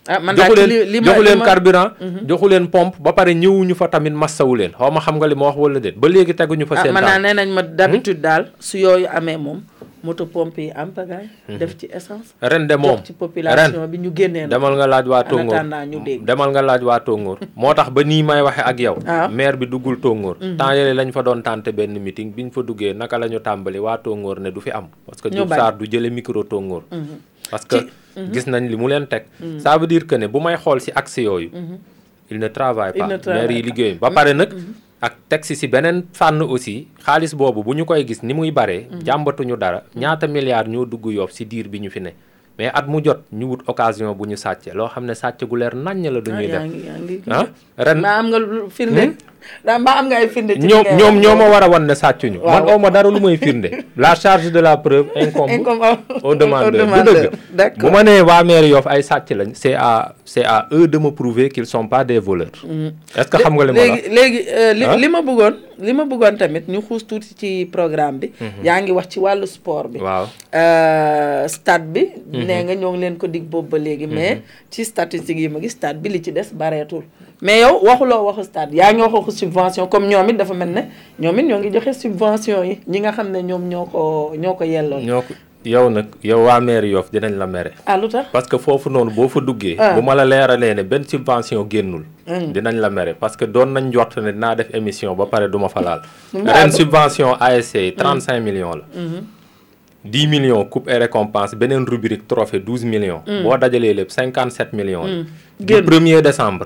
joxu leen carburant joxu leen pompe ba pare ñëwuñu fa tamit massawu leen xaw ma xam nga li ma wax wala déet ba léegi teguñu fa seen man naa nee nañ ma d'habitude daal su yooyu amee moom moto pompe yi am pagaay def ci essence ren de moom ci population bi ñu génnee demal nga laaj waa Tongoor demal nga laaj waa Tongoor moo tax ba nii may waxe ak yow maire bi duggul Tongoor temps yële lañ fa doon tànte benn meeting biñ fa duggee naka la ñu tàmbali waa Tongoor ne du fi am parce que Diouf Sarr du jële micro Tongoor parce que gis nañ li mu leen teg ça veut dire que ne bu may xool si axe yooyu il ne travaille pas maire yi liggéeyuñ ba pare nag ak teg si beneen fànn aussi xaalis boobu bu ñu koy gis ni muy baree jàmbatuñu dara ñaata milliards ñoo dugg Yoff si diir bi ñu fi ne mais at mu jot ñu wut occasion bu ñu sàcce loo xam ne sàcc gu leer naññ la duñuy def ren maa am nga firnde maa am nga ay firnde ñoom ñoo ma war a wan ne sàccuñu man aw ma dara lu may firnde la charge de la preuve incombe au demandeur bu dëgg bu ma nee waa maire Yoff ay sàcc lañ c'est à eux de me prouver qu'ils sont pas des voleurs est-ce que xam nga li ma la léegi li ma bëggoon tamit ñu xuus tuuti ci programme bi yaa ngi wax ci wàllu sport bi waaw stade bi nee nga ñoo ngi leen ko dig boobu ba léegi mais ci statistiques yi ma gis stade bi li ci des bareetul mais yow waxuloo waxu stade yaa ngi waxu subvention comme ñoom it dafa mel ne ñoom it ñoo ngi joxe subvention yi ñi nga xam ne ñoom ñoo ko yelloon yow nag yow waa maire Yoff dinañ la mere lu tax parce que foofu noonu boo fa duggee bu ma la leeralee ne benn subvention génnul dinañ la mere parce que doon nañ njort ne dinaa def émission ba pare duma fa laal ren subvention ASC yi 35 millions la 10 millions coupe et récompense beneen rubrique trophée 12 millions boo dajalee lépp 57 millions du 1er décembre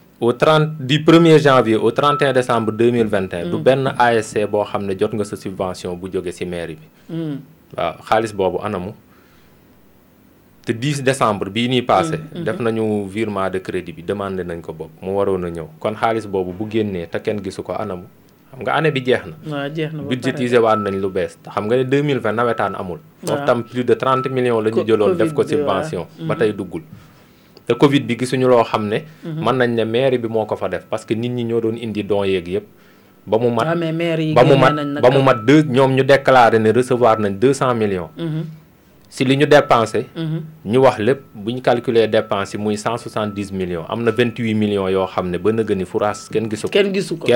du 1er janvier au 31 décembre 2021 du benn ASC boo xam ne jot nga sa subvention bu jóge ci mairie bi waaw xaalis boobu anamu te 10 décembre bii nii passé def nañu virement de crédit bi demandé nañ ko bopp mu waroon a ñëw kon xaalis boobu bu génnee te kenn gisu ko anamu xam nga année bi jeex na budgétisé waat nañ lu bees te xam nga ne 2020 nawetaan amul foofu tam plus de 30 millions la ñu jëloon def ko subvention ba tey duggul te Covid bi gisuñu loo xam ne mën nañ ne mairie bi moo ko fa def parce que nit ñi ñoo doon indi don yeeg yëpp ba mu mat ñoom ñu déclaré ne recevoir nañ 200 millions si li ñu dépensé ñu wax lépp bu ñu calculer dépense yi muy 170 millions am na 28 millions yoo xam ne ba nëgë ni fouraas kenn gisu ko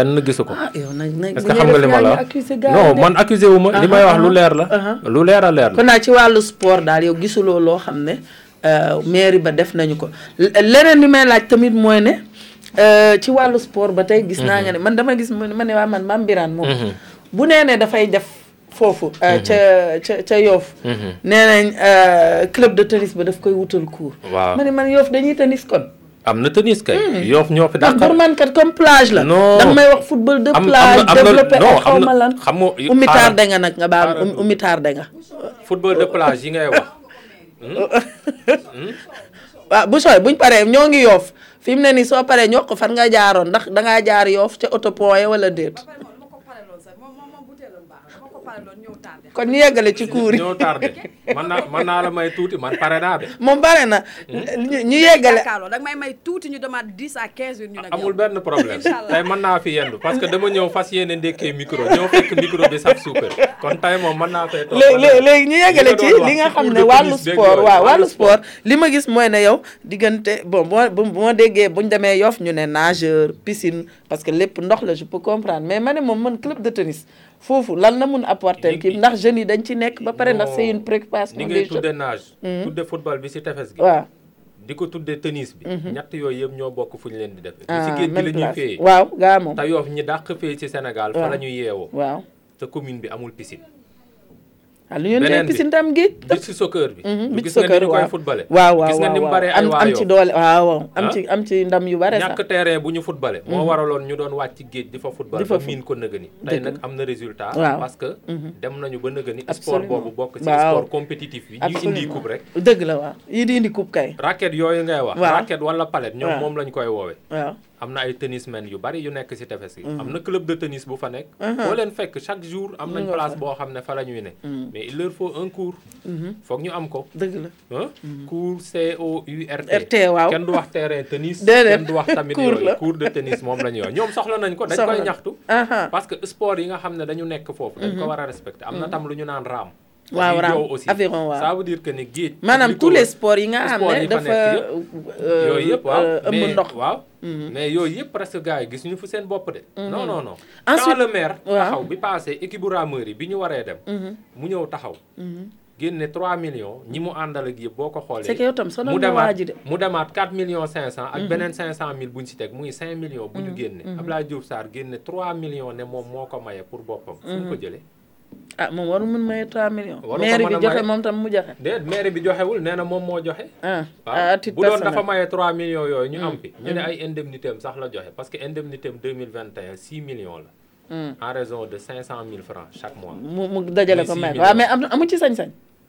est-ce que xam nga li ma la non man accusé wu ma li may wax lu leer la lu leer a leer la kon naa ci wàllu sport daal yow gisuloo loo xam ne mairie ba def nañu ko leneen li may laaj tamit mooy ne ci wàllu sport ba tey gis naa nga ne man dama gis ma ne waa man Mame Birane moom bu nee ne dafay def foofu ca Yoff nee nañ club de tennis ba daf koy wutal cours waaw ma ne man Yoff dañuy tennis kon am na tennis kay Yoff ñoo fi ndax pour man kat comme plage la danga may wax football de plage développé ak xaw ma lan xam nga umi tardé nga nag nga baal umi tardé nga football de plage yi ngay wax waaw bu sooy buñ paree ñoo ngi Yoff fi mu ne nii soo paree ñoo ko fan nga jaaroon ndax dangaa jaar Yoff ca autopont ya wala déet kon ñu yeggale ci cours yi ñoo tardé man naa la may tuuti man pare naa de moom pare na ñu yeggale da may may tuuti ñu demande 10 à 15 minutes ñu nag amul benn problème tey mën naa fi yendu parce que dama ñëw fas yéene ndekkee micro ñëw fekk micro bi saf suukar kon tey moom mën naa fay toog léegi ñu yeggale ci li nga xam ne wàllu sport waaw wàllu sport li ma gis mooy ne yow diggante bon bu ma déggee buñ demee Yoff ñu ne nageur piscine parce que lépp ndox la je peux comprendre mais ma ne moom man club de tennis foofu lan la mun apporter kii ndax jeunes yi dañ ci nekk ba pare ndax c'est une préoccupation ni ngay tudde nage tudde football bi ci tefes gi waaw di ko tudde tennis bi ñett yooyu yëpp ñoo bokk fu ñu leen di defee ci géej gi la ñuy féeyee waaw gaa moom te Yoff ñi dàq féey ci Sénégal fa la ñuy yeewoo waaw te commune bi amul piscine lu ñu ne piscine tam géej. beach soccer bi. beach soccer waaw gis nga ni ñu koy footballé. waaw gis nga ni mu baree ay am ci doole waaw am ci ndam yu bare sax. ñàkk terrain bu ñu footballé. moo waraloon ñu doon wàcc ci géej di fa football. ba miin ko nëgëni. tey nag am na résultat. parce que dem nañu ba nëgëni. sport boobu bokk ci sport compétitif bi. ñu indi coupe rek. dëgg la waaw yi di indi coupe kay. raquette yooyu ngay wax. raquette wala palette ñoom moom lañ koy woowee. waaw am na ay tennismen yu bari yu nekk ci tefes yi. am na club de tennis bu fa nekk. boo leen fekk chaque jour am nañ place boo xam ne fa la ñuy ne. mais il leur faut un cours. foog ñu am ko. dëgg la cours COURT. RT waaw kenn du wax terrain tennis. déedéet kenn du wax tamit yooyu cours de tennis moom la ñuy wax ñoom soxla nañ ko dañ koy ñaxtu. parce que sport yi nga xam ne dañu nekk foofu. dañ ko war a respecter am na tam lu ñu naan raam. waaw raam aviron waaw ça veut dire que ni géej. maanaam tous les sports yi nga xam ne dafa yooyu yëpp waaw ëmb ndox waaw mais yooyu yëpp presque gars yi gis ñu fu seen bopp de. non non non. ensuite quand le maire taxaw bi passé équipe bu rameur yi bi ñu waree dem. mu ñëw taxaw. génne 3 millions ñi mu àndal ak yëpp boo ko xoolee. c'est que yow tam sonal na waa ji de mu demaat 4 millions 500 ak beneen 500000 bu ñu si teg muy 5 millions. bu ñu génne. Abdoulaye Diouf Sarr génne 3 millions ne moom moo ko maye pour boppam. fu mu ko jëlee. moom waru mun maye 3 millions. maire bi joxe moom tam mu joxe. déet maire bi joxewul nee na moom moo joxe. à titre bu doon dafa maye 3 millions yooyu ñu am fi. ñu ne ay indemnité am sax la joxe parce que indemnité am 2021 6 millions la. en raison de 500 000 francs chaque mois. mu dajale ko maire waaw mais amu ci sañ-sañ.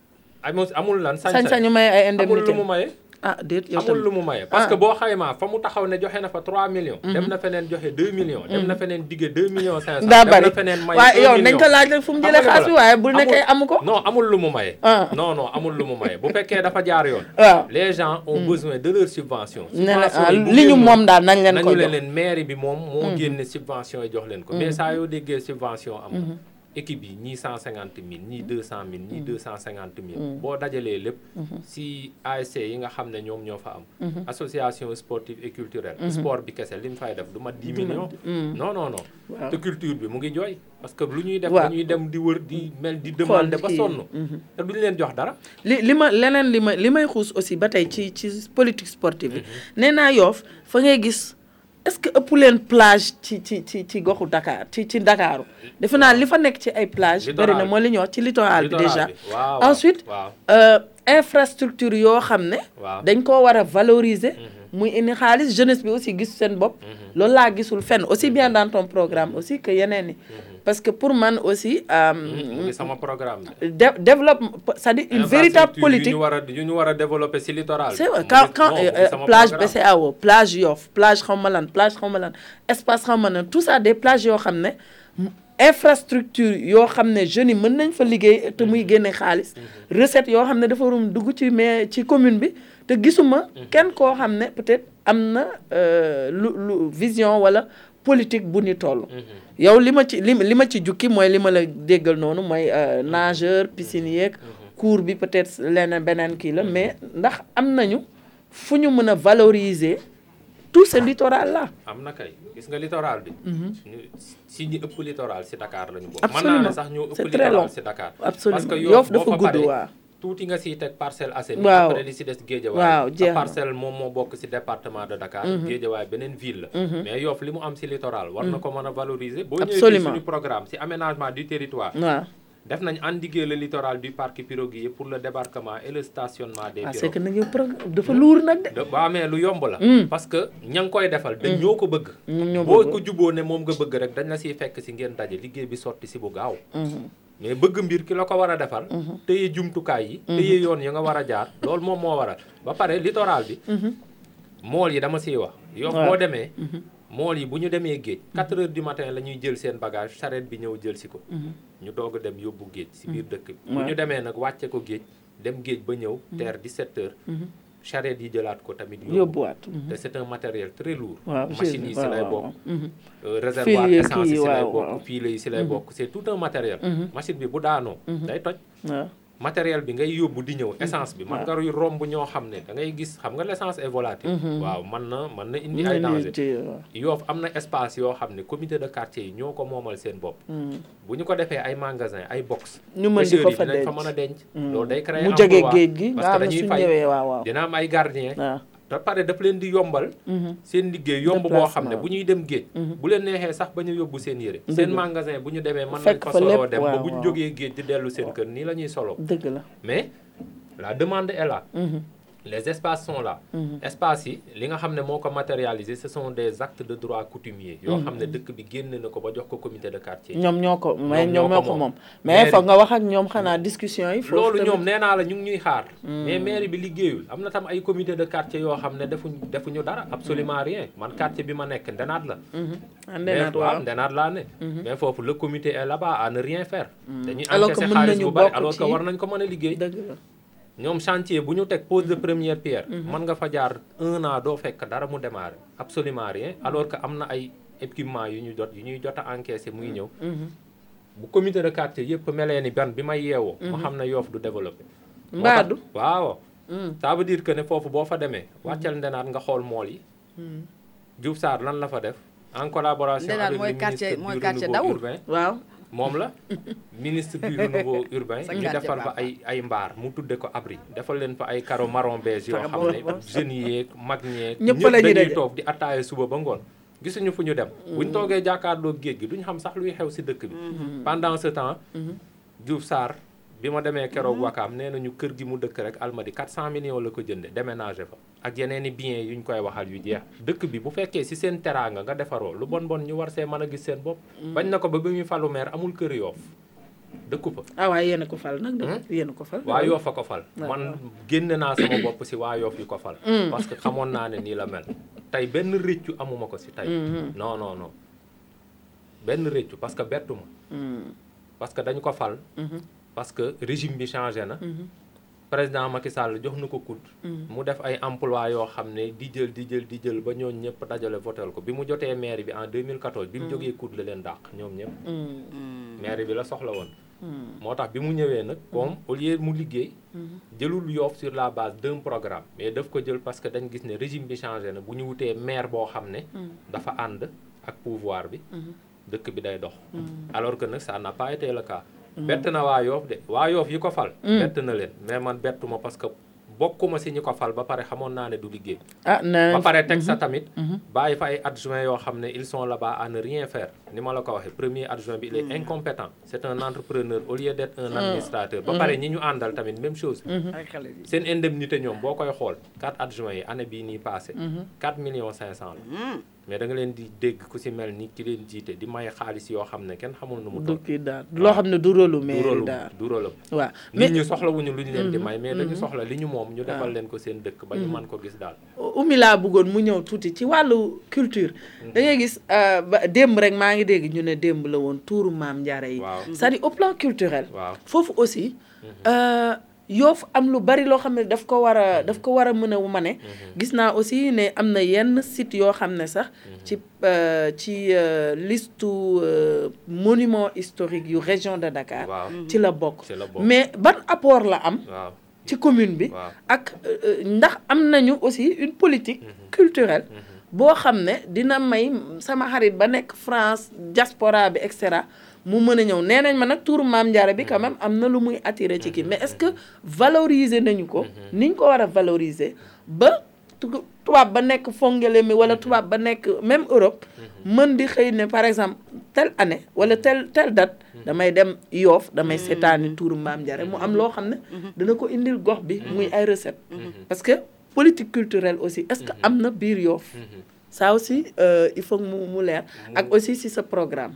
amul lan sañ-sañ ñu maye ay indemnité amul lu mu maye. déet yow amul lu mu maye parce que boo xaymaa fa mu taxaw ne joxe na fa 3 millions. dem na feneen joxe 2 millions. dem na feneen digge 2 millions 500. daa bari dem na feneen maye 1 million. waaye yow nañ ko laaj rek fu mu jëlee xaalis bi waaye bu nekkee amu ko. non amul lu mu maye. non non amul lu mu maye bu fekkee dafa jaar yoon. waaw les gens ont besoin de leur subvention. li ñu moom daal nañ leen ko jox nañu leen mairie bi moom moo génne subvention yi jox leen ko. mais saa yoo déggee subvention am. équipe yi ñii 150 000 ñii 200 000 ñii 250 000. boo dajalee lépp. si ASC yi nga xam ne ñoom ñoo fa am. association sportive et culturelle. sport bi kese li mu fay def du mat 10 millions. non non non. te culture bi mu ngi jooy. parce que lu ñuy def dañuy dem di wër di mel di demander ba sonn. te duñu leen jox dara. li may xuus aussi ba tey ci politique sportive bi. nee naa Yoff fa ngay gis. est-ce que ëpp leen plage ci goxu Dakar ci Dakaru defe naa li fa nekk ci ay plage bëri na moo li ñuy wax ci littoral bi déjà ensuite infrastructure yoo xam ne dañ koo war a valoriser muy indi xaalis jeunesse bi aussi gis seen bopp loolu laa gisul fenn aussi bien dans ton programme aussi que yeneen ni parce que pour man aussi sama programme développe c'est-à-dire une véritable politique yu ñu war a développer ci littoral c'est quand plage BCEAO plage Yoff plage xawma lan espace xawma lan tout ça des plages yoo xam ne infrastructure yoo xam ne jeunes yi mën nañ fa liggéey te muy génne xaalis recette yoo xam ne dafa waroon dugg ci commune bi te gisuma kenn koo xam ne peut-être am na lu vision wala politique bu ni toll yow li ma ci jukki mooy li ma la déggal noonu mooy nageur piscine yeeg cours bi peut-être leneen beneen kii la mais ndax am nañu fu ñu mën a valoriser tout ce littoral là. am na kay gis nga littoral bi. si ñi ëpp littoral si Dakar lañu bokk. mën naa ne sax ñoo ëpp littoral si Dakar. absolument parce que Yoff dafa gudd waaw. tuuti nga siy teg Parcelles Assainies. waaw après li si des Guédiawaye. waaw jeex na Parcelles moom moo bokk si département de Dakar. Guédiawaye beneen ville la. mais Yoff li mu am si littoral. war na ko mën a valoriser. boo ñëwee suñu programme si aménagement du territoire. waaw. def nañ endiguer le littoral du parc piroguier pour le débarquement et le stationnement des pirogues. c'est que nag yow dafa luur nag de. waaw mais lu yomb la. parce que ña ngi koy defal dañ ñoo ko bëgg. boo ko juboo ne moom nga bëgg rek dañ la siy fekk si ngeen daje liggéey bi sotti si bu gaaw. mais bëgg mbir ki la ko war a defal. téye jumtukaay yi. téye yoon yi nga war a jaar loolu moom moo waral ba pare littoral bi. mool yi dama siy wax. Yoff boo demee. mool yi bu ñu demee géej 4 heures du matin la ñuy jël seen bagage charrette bi ñëw jël si ko ñu doog a dem yóbbu géej si biir dëkk bi bu ñu demee nag wàcce ko géej dem géej ba ñëw teer 17 heures charrette yi jëlaat ko tamit yóbbuwaat te c'est un matériel très lourd machines yi si lay bokk réservoir essence yi si lay bokk file yi si lay bokk c'est tout un matériel machine bi bu daanoo day toj matériel bi ngay yóbbu di ñëw essence bi man nga romb ñoo xam ne da ngay gis xam nga l'essence est volatile waaw mën na indi ay danger Yoff am na espace yoo xam ne comité de quartier yi ñoo ko moomal seen bopp bu ñu ko defee ay magasin ay box ñu mën di ko fa dinañ fa mën a denc loolu day créer mu jege géej gi parce que dañuy fay dina am ay gardien da pare daf leen di yombal seen liggéey yomb boo xam ne bu ñuy dem géej bu leen neexee sax ba ñu yóbbu seen yére seen magasin bu ñu demee mën nañ fa soloo dem ba bu ñu jógee géej di dellu seen kër nii la ñuy soloo dëgg la mais la demande est là les espaces sont là espaces yi li nga xam ne moo ko matérialiser ce sont des actes de droit coutumier yoo xam ne dëkk bi génn na ko ba jox ko comité de quartier ñoom ñoo ko moom mais foog nga wax ak ñoom xanaa discussion yi loolu ñoom nee naa la ñu ngi ñuy xaar mais mairie bi liggéeyul am na tam ay comité de quartier yoo xam ne defuñu dara absolument rien man quartier bi ma nekk Ndenaat la Ndenaat laa ne mais foofu le comité est là-bas à ne rien faire dañuy encaisser xaalis bu bari alors que war nañ ko mën a liggéey ñoom chantier bu ñu teg pose de première pierre mën nga fa jaar 1 an doo fekk dara mu démarrer absolument rien alors que am na ay équipement yu ñuy jot a encaissé muy ñëw bu comité de quartier yëpp melee ni ban bi may yeewoo ma xam ne Yoff du développé mbaadu waaw ça veut dire que ne foofu boo fa demee wàccal Ndenaat nga xool mool yi Diouf Sarr lan la fa def en collaboration avec le ministre du renouveau urbain waaw moom la ministre du renouveau urbain ñu defal fa ay mbaar mu tudde ko abri defal leen fa ay carreau marron beige yoo xam ne jeunes yeeg mag ñeeg ñëpp dañuy toog di attaaye suba ba ngoon gisuñu fu ñu dem buñ toogee jàkkaarloo géej gi duñ xam sax luy xew si dëkk bi pendant ce temps Diouf Sarr bi ma demee keroog Wakaam nee nañu kër gi mu dëkk rek Almadi 400 millions la ko jënde déménager fa ak yeneen i biens yuñ koy waxal yu jeex dëkk bi bu fekkee si seen teraanga nga defaroo lu bon ñu war see mën a gis seen bopp bañ na ko ba muy falu maire amul kër Yoff dëkku fa waaye yéen a ko fal nag yéen a ko fal waa Yoff a ko fal man génne naa sama bopp si waa Yoff yu ko fal parce que xamoon naa ne nii la mel tey benn réccu amuma ko si tey non benn réccu parce que bettu ma parce que dañu ko fal parce que régime bi changé na président Macky Sall jox na ko COUD mu def ay emploi yoo xam ne di jël ba ñooñu ñëpp dajale votel ko bi mu jotee mairie bi en 2014 bi mu jógee COUD la leen dàq ñoom ñëpp mairie bi la soxla woon moo tax bi mu ñëwee nag comme au lieu mu liggéey jëlul Yoff sur la base d'un programme mais daf ko jël parce que dañ gis ne régime bi changé na bu ñu wutee maire boo xam ne dafa ànd ak pouvoir bi dëkk bi day dox alors que nag ça n'a pas été le cas bett na waa Yoff de waa Yoff yi ko fal bett na leen mais man bettuma parce que bokkuma si ñi ko fal ba pare xamoon naa ne du liggéey ba pare teg sa tamit bàyyi fa ay adjoints yoo xam ne ils sont là-bas à ne rien faire ni ma la ko waxee premier adjoint bi il est incompétent c'est un entrepreneur au lieu d'être un administrateur ba pare ñi ñu àndal tamit même chose seen indemnité ñoom boo koy xool 4 adjoints yi année bii nii passé 4 millions 500 la mais da nga leen di dégg ku si mel ni ki leen jiite di may xaalis yoo xam ne kenn xamul nu mu toll. du kii daal loo xam ne du rôle mais daal du rôle waaw nit ñu soxlawuñu lu ñu leen di may mais dañu soxla li ñu moom ñu defal leen ko seen dëkk ba ñu mën ko gis daal Oumy laa bëggoon mu ñëw tuuti ci wàllu culture da ngay gis ba démb rek maa ngi dégg ñu ne démb la woon tuuru Maam Jaara yi c'est-à-dire au plan culturel foofu aussi Yoff am lu bari loo xam ne daf ko war a mën a mane gis naa aussi ne am na yenn site yoo xam ne sax ci liste monument historique yu région de Dakar ci la bokk mais ban apport la am ci commune bi ak ndax am nañu aussi une politique culturelle boo xam ne dina may sama xarit ba nekk France diaspora bi et cetera mu mën a ñëw nee nañ ma nag tuuru Maam Jaara bi quand même am na lu muy attiré ci kii mais est-ce que valoriser nañu ko niñ ko war a valoriser ba tubaab ba nekk Fongolimbi wala tubaab ba nekk même Europe mën di xëy ne par exemple telle année wala telle date damay dem Yoff damay seetaani tuuru Maam Jaara mu am loo xam ne dana ko indil gox bi muy ay recette parce que politique culturelle aussi est-ce que am na biir Yoff ça aussi il faut mu leer ak aussi si sa programme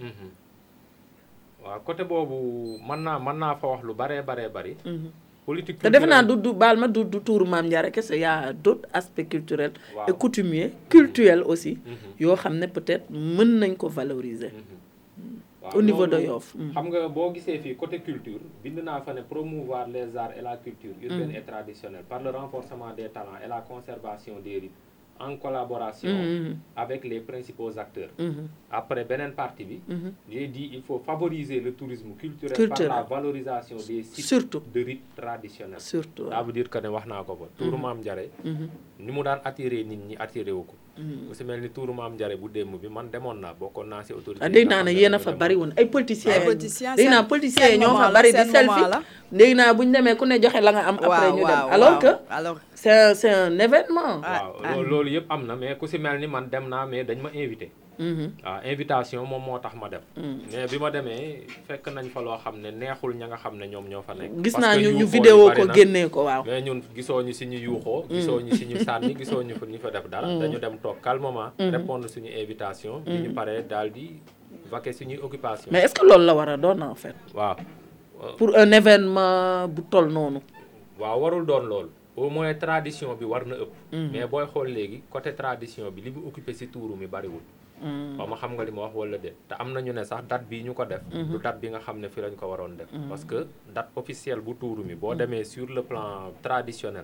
waaw côté boobu mën naa fa wax lu bari politique te defe naa du baal ma du tuuru Maam Jaara kese y a d'autres aspects culturels et coutumiers culturels aussi yoo xam ne peut-être mën nañ ko valoriser au niveau de Yoff xam nga boo gisee fii côté culture bind naa fa ne promouvoir les arts et la culture urbaine et traditionnelle par le renforcement des talents et la conservation des rites en collaboration avec les principaux acteurs. Après beneen partie bi j'ai dit il faut favoriser le tourisme culturel par la valorisation des sites de rites traditionnels. Surtout ça veut dire que ne wax naa ko ba tuuru Maam Jaara ni mu daan attiré nit ñi attiré wu ko ku si mel ni tuuru Maam Jaara bu démb bi man demoon naa bokkoon naa si autorité dégg naa ne yéen a fa bari woon ay politiciens dégg naa politiciens ñoo fa bari di selfie léegi naa bu ñu demee ku ne joxe la nga am. après ñu dem alors que c'est un événement. waaw loolu yëpp am na mais ku si mel ni man dem naa mais dañ ma invité. waaw invitation moom moo tax ma dem. mais bi ma demee fekk nañ fa loo xam ne neexul ña nga xam ne ñoom ñoo fa nekk. gis naa ñu vidéo ko génnee ko waaw. mais ñun gisoo ñu si ñu yuuxoo. gisoo ñu si ñu sànni gisoo ñu fa def dara. dañu dem toog calmement. répondre suñu invitation. bi ñu paree daal di vaquer suñuy occupation. mais est-ce que loolu la war a doon en fait. waaw. pour un événement bu toll noonu. waaw warul doon loolu. au moins tradition bi war na ëpp. mais booy xool léegi côté tradition bi li mu occupé si tuuru mi bariwul. waaw ma xam nga li ma wax wala déet te am na ñu ne sax date bii ñu ko def. du date bi nga xam ne fi lañ ko waroon def. parce que date officielle bu tuuru mi boo demee sur le plan traditionnel.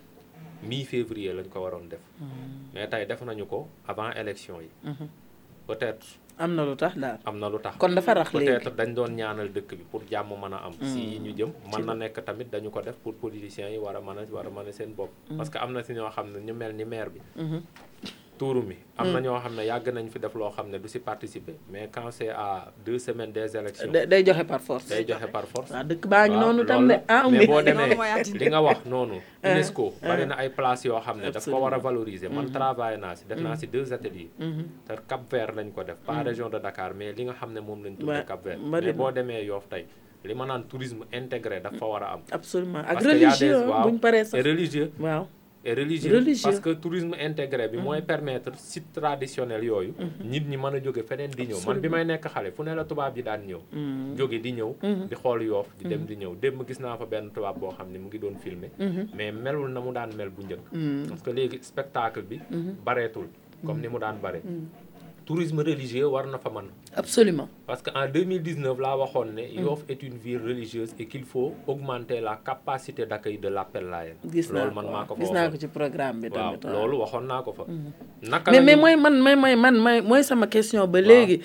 mi-février lañ ko waroon def. mais tey def nañu ko avant élection yi. peut-être. am na lu tax daal. am na lu tax kon dafa rax léegi peut-être dañ doon ñaanal dëkk bi pour jàmm mën a am. si yi ñu jëm mën na nekk tamit dañu ko def pour politiciens yi war a mën a seen bopp. parce que am na si ñoo xam ne ñu mel ni maire bi. tuuru mi am na ñoo xam ne yàgg nañ fi def loo xam ne du si participer mais quand c'est à 2 semaines des élections day joxe par force. waaw dëkk baa ngi noonu tam de mais boo demee li nga wax noonu UNESCO bari na ay places yoo xam ne daf ko war a valoriser man travaillé naa si def naa si 2 ateliers te Cap Vert lañ ko def pas région de Dakar mais li nga xam ne moom lañ tuddee Cap Vert mais boo demee Yoff tey li ma naan tourisme intégré dafa war a am absolument ak religieux buñ paree sax religieux waaw et religieux parce que tourisme intégré bi mooy permettre site traditionnel yooyu nit ñi mën a jóge feneen di ñëw man bi may nekk xale fu ne la tubaab yi daan ñëw jóge di ñëw di xool Yoff di dem di ñëw démb gis naa fa benn tubaab boo xam ne mu ngi doon filmer mais melul na mu daan mel bu njëkk parce que léegi spectacle bi bareetul comme ni mu daan bare tourisme religieux war na fa mën absolument parce que en 2019 laa waxoon ne Yoff est une ville religieuse et qu'il faut augmenter la capacité d'accueil de l'appel Layène loolu man maa ko fa gis naa ko ci programme bi tamit waaw loolu waxoon naa ko fa naka mais mooy sama question ba léegi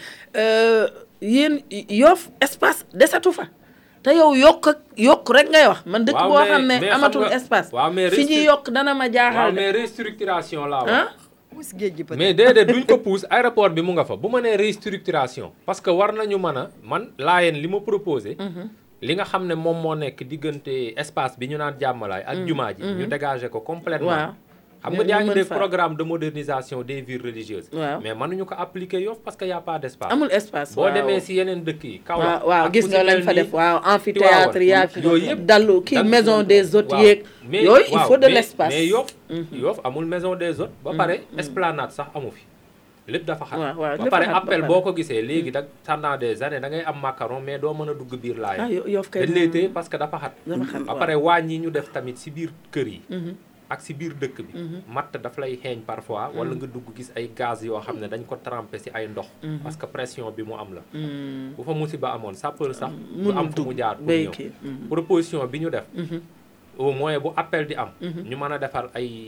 yéen Yoff espace desatu fa te yow yokk rek ngay wax man dëkk boo xam ne amatul espace fi ñuy yokk dana ma jaaxal mais restructuration laa wax mais déedéet duñ ko pousse aéroport bi mu nga fa bu ma nee restructuration parce que war nañu mën a man Layène li ma proposé li nga xam ne moom moo nekk diggante espace bi ñu naan jàmmalaay ak jumaa ji ñu dégager ko complètement xam nga yaa ngi def programme de modernisation des villes religieuses mais mënuñu ko appliquer Yoff parce que y a pas d'espace amul espace boo demee si yeneen dëkk yi Kaolack waaw gis nga lañ fa def amphithéâtre yaag yooyu yëpp dallu kii maison des hôtes yeeg yooyu il faut de l'espace mais Yoff amul maison des hôtes ba pare esplanade sax amu fi lépp dafa xat ba pare appel boo ko gisee léegi da pendant des années da ngay am macaron mais doo mën a dugg biir Layène dañ lay téye parce que dafa xat ba pare waañ yi ñu def tamit si biir kër yi ak si biir dëkk bi matt daf lay xeeñ parfois wala nga dugg gis ay gaz yoo xam ne dañ ko trempé si ay ndox parce que pression bi mu am la bu fa musiba amoon sapeur sax du am fu mu jaar pour ñëw proposition bi ñu def au moins bu appel di am ñu mën a defar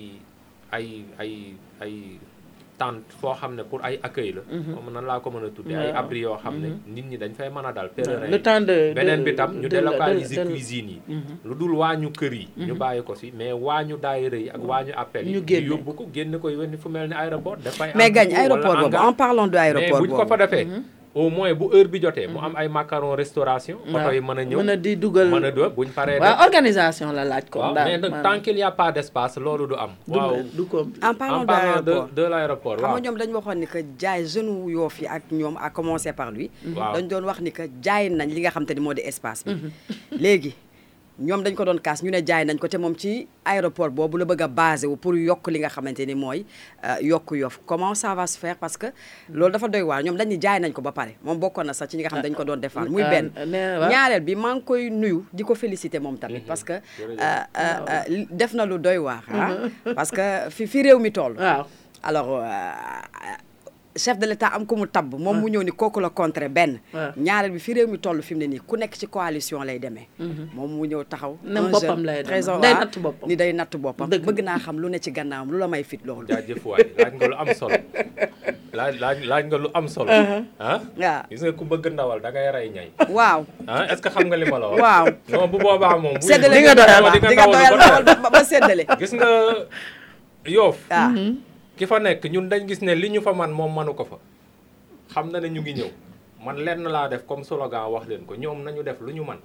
ay tente foo xam ne pour ay accueil la moom nan laa ko mën a tuddee ay abri yoo xam ne nit ñi dañ fay mën a dal pèlerin le temps de beneen bi tam ñu délocaliser cuisine yi lu dul waañu kër yi ñu bàyyi ko si mais waañu daayira yi ak waañu appel yi ñu yóbbu ko génn ko yónni fu mel ni aéroport dafay mais gañ aéroport boobu en parlant de aéroport mais buñ ko fa defee au moins bu heure bi jotee mu am ay macaron restauration oto yi mën a ñëw mën a di dugal mën a do buñ paree waaw organisation la laaj ko mais nag tant qu'il y a pas d'espace loolu du am waaw du ko en parlant de l'aéroport xam nga ñoom dañu waxoon ni que jaay jeune Yoff yi ak ñoom à commencer par lui dañ doon wax ni que jaay nañ li nga xam te ni moo di espace bi léegi ñoom dañ ko doon kaas ñu ne jaay nañ ko te moom ci aéroport boobu la bëgg a basé wu pour yokk li nga xamante ni mooy yokk Yoff comment ça va se faire parce que loolu dafa doy waar ñoom dañ ni jaay nañ ko ba pare moom bokkoon na sax ci ñi nga xam dañ ko doon defar muy benn ñaareel bi maa ngi koy nuyu di ko féliciter moom tamit parce que def na lu doy waar parce que fi réew mi toll alors chef de l'État am ko mu tabb moom mu ñëw ni kooku la contre benn ñaareel bi fi réew mi toll fi mu ne nii ku nekk ci coalition lay demee moom mu ñëw taxaw boppam lay day natt boppam ni day natt boppam bëgg naa xam lu ne ci gannaawam lu la may fit loolu jaajëf waay laaj nga lu am solo laaj nga lu am solo waaw gis nga ku bëgg ndawal da ngay rey ñay waaw est-ce que xam nga li ma la wax waaw non bu boobaa moom séddale di nga doyal ndawal ba séddale gis nga Yoff ki fa nekk ñun dañ gis ne li ñu fa man moom manu ko fa xam na ne ñu ngi ñëw man lenn laa def comme slogan wax leen ko ñoom nañu def lu ñu man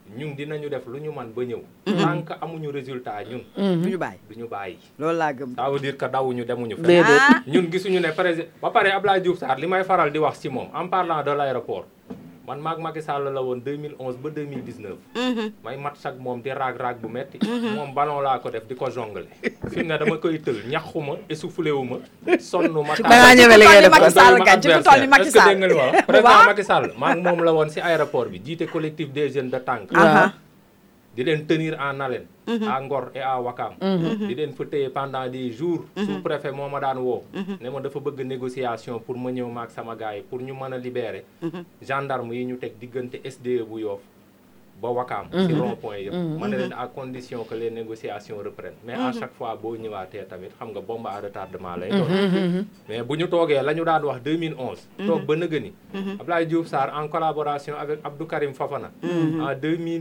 ñun dinañu def lu ñu man ba ñëw. tant que amuñu résultat ñun. duñu bàyyi. loolu laa gëm. ça veut dire que dawuñu demuñu fenn. ñun gisuñu ne président ba pare Abdoulaye Diouf Sarr li may faral di wax ci moom en parlant de l'aéroport man maag Macky Sall la woon 2011 ba 2019. may mat sax moom di raag bu metti moom ballon laa ko def di ko jongle fi mu ne dama koy tël ñaxuma essoufflé wu ma sonn ma. da ngaa ñëwee li ngay def Macky Sall gañ ci ku toll ni Macky Sall. est-ce que dégg nga li ma wax président Macky Sall maag moom la woon ci aéroport bi jiite collectif des jeunes de Tànk. di leen tenir en haleine. à Ngor et à Wakam. di leen fa téye pendant des jours. sous-préfet moo ma daan woo. ne ma dafa bëgg négociation pour ma ñëw maak sama gars yi pour ñu mën a libérer. gendarme yi ñu teg diggante SDE bu Yoff ba Wakam. ci rond-point yëpp. ma ne leen à condition que les négociations reprennent. mais à chaque fois boo ñëwaatee tamit xam nga bombe à retardement lay doon. mais bu ñu toogee la ñu daan wax 2011. toog ba nëgëni. Abdoulaye Diouf Sarr en collaboration avec Abdou Karim Fofana. en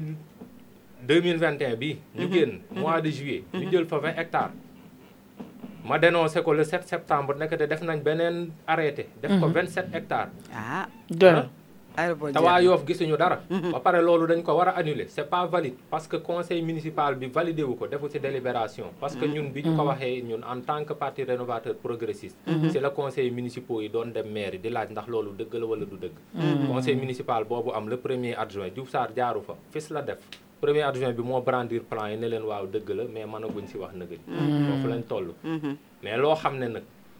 2021 bi ñu génn mois de juillet ñu jël fa 20 hectares ma dénoncé ko le 7 septembre nekk te def nañ beneen arrêté def ko 27 hectares te waa Yoff gisuñu dara ba pare loolu dañ ko war a annuler c'est pas valide parce que conseil municipal bi validé wu ko defu ci délibération parce que ñun bi ñu ko waxee ñun en tant que parti rénovateur progressiste c'est le conseil municipal yi doon dem maire di laaj ndax loolu dëgg la wala du dëgg conseil municipal boobu am le premier adjoint Diouf Sarr jaaru fa fis la def premier adjoint bi moo brandir plan yi ne leen waaw dëgg la mais mënaguñ ci wax nëgëj foofu lañ toll mais loo xam ne nag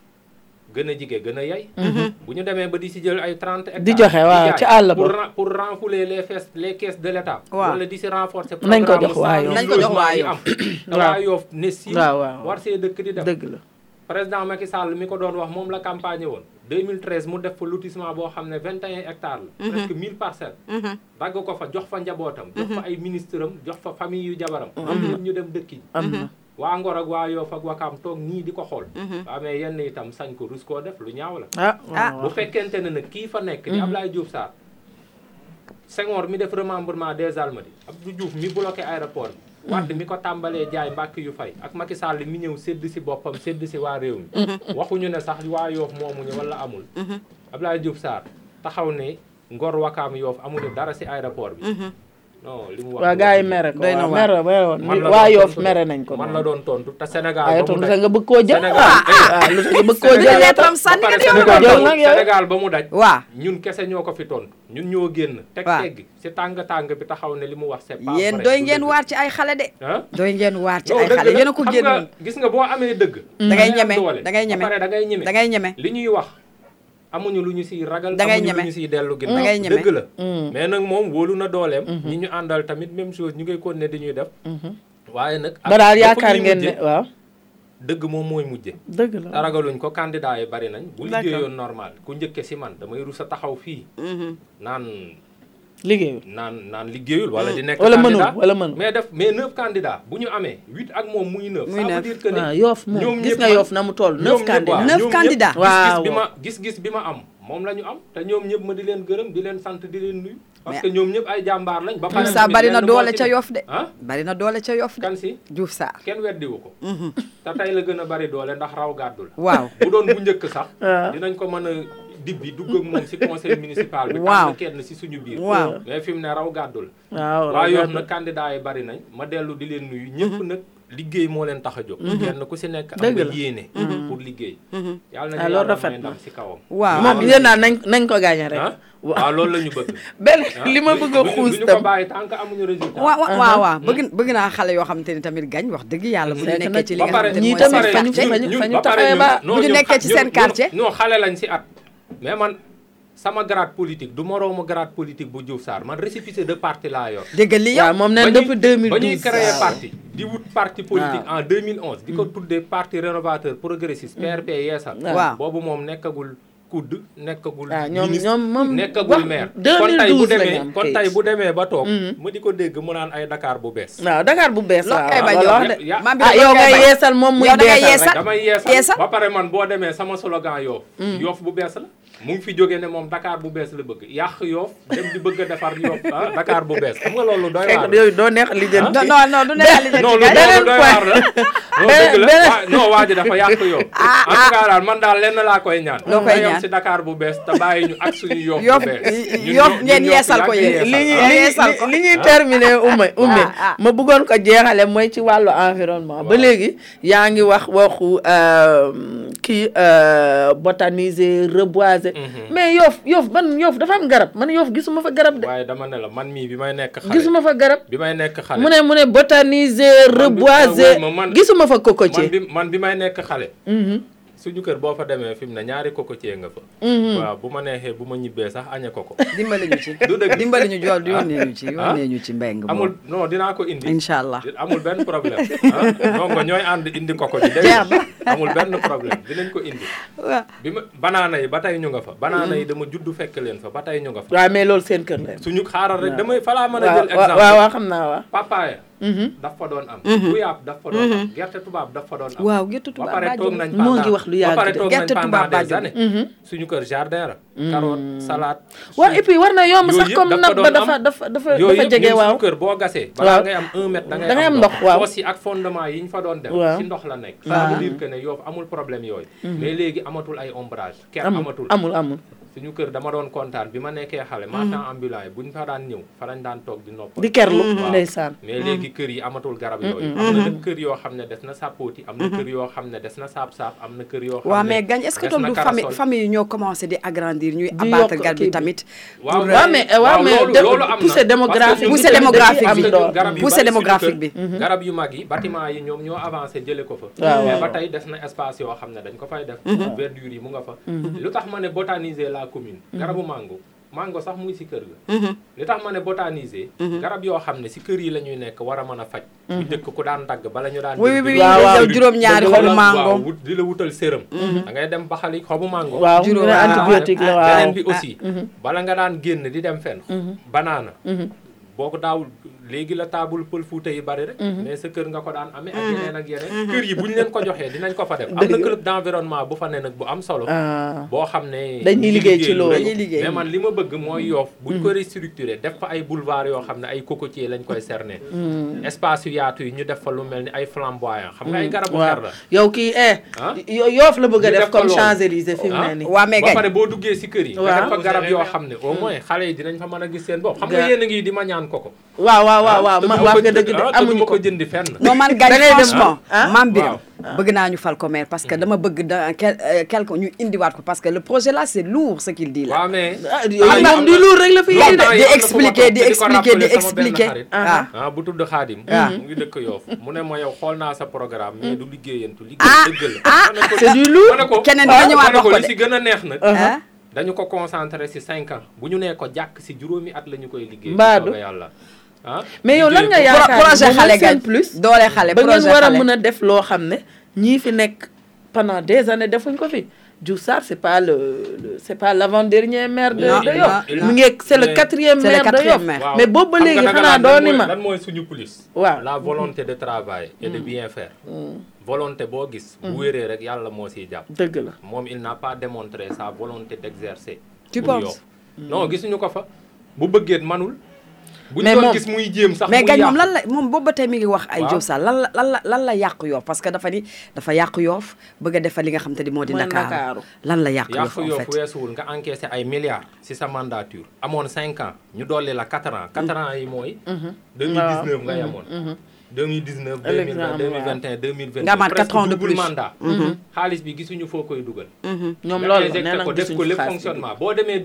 gën a jige gën a yey bu ñu demee ba di ci jël ay 30 hectares di joxe waaw ci àll ba pour renflouer les caisses de l'État wala di ci renforcer nañ ko jox waa Yoff nañ ko jox waa Yoff waa Yoff ne si waaw war see dëkk di def dëgg la président Macky Sall mi ko doon wax moom la campagne woon 2013 mu def fa lotissement boo xam ne 21 hectares la presque 1000 parcelles dagg ko fa jox fa njabootam jox fa ay ministre am jox fa famille yu jabaram am ñëpp ñu dem dëkk yi waa Ngor ak waa Yoff ak Wakam toog nii di ko xool waa mais yenn itam sañ ko rus koo def lu ñaaw la bu fekkente ne nag kii fa nekk di Abdoulaye Diouf Sarr Senghor mi def remembrement des Almadies Abdou Diouf mi bloqué aéroport bi Wade mi ko tàmbalee jaay mbàkk yu fay ak Macky Sall mi ñëw sédd si boppam sédd si waa réew mi waxuñu ne sax waa Yoff moomuñu wala amul Abdoulaye Diouf Sarr taxaw ne Ngor Wakam Yoff amuñu dara si aéroport bi non li mu wax waa gars yi mere ko mere waa Yoff mere nañ ko man la doon tontu te Sénégal ay tontu nga bëgg koo jël lu tax nga bëgg koo jël tam sànni Sénégal ba mu daj waaw ñun kese ñoo ko fi tontu ñun ñoo génn teggi si tàng bi taxaw ne li mu wax c'est pas vrai yéen doy ngeen waar ci ay xale de doy ngeen waar ci ay xale yéen a ko génn gis nga boo amee dëgg da ngay ñeme da ngay ñeme pare da ngay ñeme li ñuy wax amuñu lu ñu siy ragal amuñu lu ñu siy dellu ginnaaw dëgg la mais nag moom wóolu na dooleem ñi ñu àndal tamit même chose ñu ngay continuer di ñuy def waaye nag ba daal yaakaar ngeen ne waaw dëgg moom mooy mujje dëgg la ragaluñ ko candidat yi bari nañ bu liggéeyoon normal ku njëkke si man damay rus a taxaw fii naan liggéeyul wala di nekk candidat wala mënul mais 9 candidats bu ñu amee 8 ak moom muy 9 ça veut dire que ne Yoff moom gis nga Yoff na mu toll 9 candidats waaw gis bi ma am moom la ñu am te ñoom ñëpp ma di leen gërëm di leen sant di leen nuyu parce que ñoom ñëpp ay jàmbaar lañ ba pare sa bari na doole ca Yoff de bari na doole ca Yoff de kan si Diouf Sarr kenn weddiwu ko te tey la gën a bari doole ndax raw gàddu la waaw bu doon bu njëkk sax dinañ ko mën a dibbi dugg ak moom si conseil municipal bi tànn kenn si suñu biir mais fi mu ne raw gàddu la waa Yoff nag candidat yi bari nañ ma dellu di leen nuyu ñëpp nag liggéey moo leen tax a jóg kenn ku si nekk am nga yéene pour liggéey yàlla na yàlla may ndam si kawam waaw moom yéen naa nañ ko gagné rek waaw loolu la ñu bëgg benn li ma bëgg a xuus tam ko bàyyi tant que amuñu résultat waaw bëgg naa xale yoo xamante ni tamit gañ wax dëgg yàlla bu ñu nekkee ci li nga xamante ni ñii tamit fañu taxawee ba bu ñu nekkee ci seen quartier non xale lañ si at mais man sama grade politique du moroomu grade politique bu Diouf Sarr man récépissé de parti laa yor. dégg li yow moom nee depuis 2012 ba ñuy créé parti di wut parti politique en 2011 di ko tuddee parti rénovateur progressiste PRP yeesal boobu moom nekkagul kudd nekkagul moom nekkagul maire kon tey bu demee ba toog ma di ko dégg mu naan ay Dakar bu bees waaw Dakar bu bees waaw yow ngay yeesal moom muy beesal damay yeesal ba pare man boo demee sama slogan Yoff bu bees la mu ngi fi jógee ne moom Dakar bu bees la bëgg yàq Yoff dem di bëgg a defar Yoff Dakar bu bees xam nga loolu doy waar yooyu doo neex li jënd non du neex li jënd loolu doy waar la non waa ji dafa yàq Yoff. en tout cas daal man daal lenn laa koy ñaan. loo koy ñaan si Dakar bu bees te bàyyi ñu ak suñu Yoff bu bees. Yoff ngeen yeesal ko yéen. li ñuy terminer Oumy ma bëggoon ko jeexale mooy ci wàllu environnement. ba léegi yaa ngi wax waxu botaniser reboiser. mais Yoff dafa am garab man Yoff gisuma fa garab de. waaye dama ne la man mii bi may nekk xale. gisuma fa garab bi may nekk xale. mu ne botaniser reboiser gisuma fa cocotier. man bi may nekk xale. suñu kër boo fa demee fi mu ne ñaari cocotier nga fa. waaw bu ma neexee bu ma ñibbee sax añe ko. dimbali ñu ci du dëgg dimbali ñu jool yónnee ñu ci mbeng amul non dinaa ko indi. incha allah amul benn problème. donc ñooy ànd indi koko ji. amul benn problème dinañ ko indi. waaw bi ma banaana yi ba tey ñu nga fa. banaana yi dama juddu fekk leen fa ba tey ñu nga fa. waaw mais loolu seen kër la. suñu xaaral rek damay falaa mën a jël exemple. waaw xam naa waaw. papaaya. daf fa doon am. guyaab daf fa doon am. gerte tubaab daf fa doon am. waaw gerte tubaab ba pare toog nañ moo ngi wax lu yàgg gerte tubaab des années. suñu kër jardin la. carotte salade. waaw et puis war na yomb sax comme nag ba dafa jege waaw. suñu kër boo gasee. balaa ngay am 1 mètre da ngay am ndox. waaw fosse yi ak fondement yi ñu fa doon def. ci ndox la nekk. ça veut dire que ne Yoff amul problème yooyu. mais léegi amatul ay ombrage. ker amatul amul. suñu kër dama doon kontaan bi ma nekkee xale. marchand ambulant yi buñ fa daan ñëw fa lañ daan toog di noppal. di kerlu ndeysaan. mais léegi kër yi amatul garab yooyu. am na kër yoo xam ne des na sapoti am na kër yoo xam ne des na saap-saap am na kër yoo xam ne. waaw mais gañ est-ce que tool du famille yi ñoo commencé di agrandir ñuy abattre garab bi tamit. waaw mais loolu am na poussée démographique bi. garab yu mag yi bâtiment yi ñoom ñoo avancé jële ko fa. mais ba tey des na espace yoo xam ne dañ ko fay def. verdure yi mu nga fa. lu tax ma ne botaniser la commune. garabu mango sax mu ngi si kër ga. li tax ma ne botaniser. garab yoo xam ne si kër yi la ñuy nekk war a mën a faj. bu njëkk ku daan dagg bala ñu daan. waaw juróom-ñaari xobu mango. waaw di la wutal sérum. da ngay dem baxali xobu mango. waaw antibiotique la waaw beneen bi aussi. bala nga daan génn di dem fenn. banaana. boo ko daawul léegi la taabul pël fuuta yi bari rek. mais sa kër nga ko daan amee ak yeneen ak yeneen. kër yi bu ñu leen ko joxee dinañ ko fa def. am na club d'environnement bu fa ne nag bu am solo. boo xam ne dañuy liggéey ci loolu mais man li ma bëgg mooy Yoff buñ ko restructuré def fa ay boulevard yoo xam ne ay cocotier lañ koy cerner. espace yu yaatu yi ñu def fa lu mel ni ay flamboyant xam nga ay garabu xer la. yow kii Yoff la bëgg a def comme Champs-Élysées fi mu ne nii. waaw mais ba pare boo duggee si kër yi. nga def fa garab yoo xam ne au moins xale yi dinañ fa mën a gis seen bopp. xam nga yéen a ngi di ma ñaan koko. waaw ma wax nga dëgg de amuñu ko jëndi fenn. non man gañ franchement Mame Birame bëgg naa ñu fal ko maire parce que dama bëgg dans quelque ñu indiwaat ko parce que le projet là c'est lourd ce qu'il dit là. waaw mais moom du lourd rek la fi di expliquer bu tudd Xaadim mu ngi dëkk Yoff mu ne ma yow xool naa sa programme mais du liggéeyantu liggéey dëgg la. c'est du lourd keneen dina ñëwaat wax ko de li si gën a neex nag dañu ko concentré si 5 ans bu ñu nee ko jàkk si juróomi at la ñu koy liggéey. mbaadu yàlla mais yow lan nga yaakaar projet xale gañ plus doole xale ba ngeen war a mën a def loo xam ne ñii fi nekk pendant des années defuñ ko fi. Diouf Sarr c'est pas l'avant-dernier maire de Yoff mu ngi c'est le 4e maire de Yoff mais boobu ba léegi xanaa dooni ma lan mooy suñu police waaw la volonté de travailler et de bien faire volonté boo gis bu wéree rek yàlla moo siy jàpp dëgg la moom il n'a pas démontré sa volonté d'exercer tu penses non gisuñu ko fa bu bëggeet manul bu ñu doon gis muy jéem sax mais gañ moom lan la moom boobu ba tey mi ngi wax ay Diouf Sarr lan la yàq Yoff parce que dafa yàq Yoff bëgg a defal li nga xam te ni moo di Ndakaaru lan la yàq Yoff en fait weesuwul nga encaissé ay milliards ci sa mandature amoon 5 ans ñu dolli la 4 ans 4 ans yi mooy 2019 nga yamoon 2019 2020 2021 2022 nga amaat 4 ans de plus mandat xaalis bi gisuñu foo koy dugal ñoom loolu nee na ko def ko lépp fonctionnement boo demee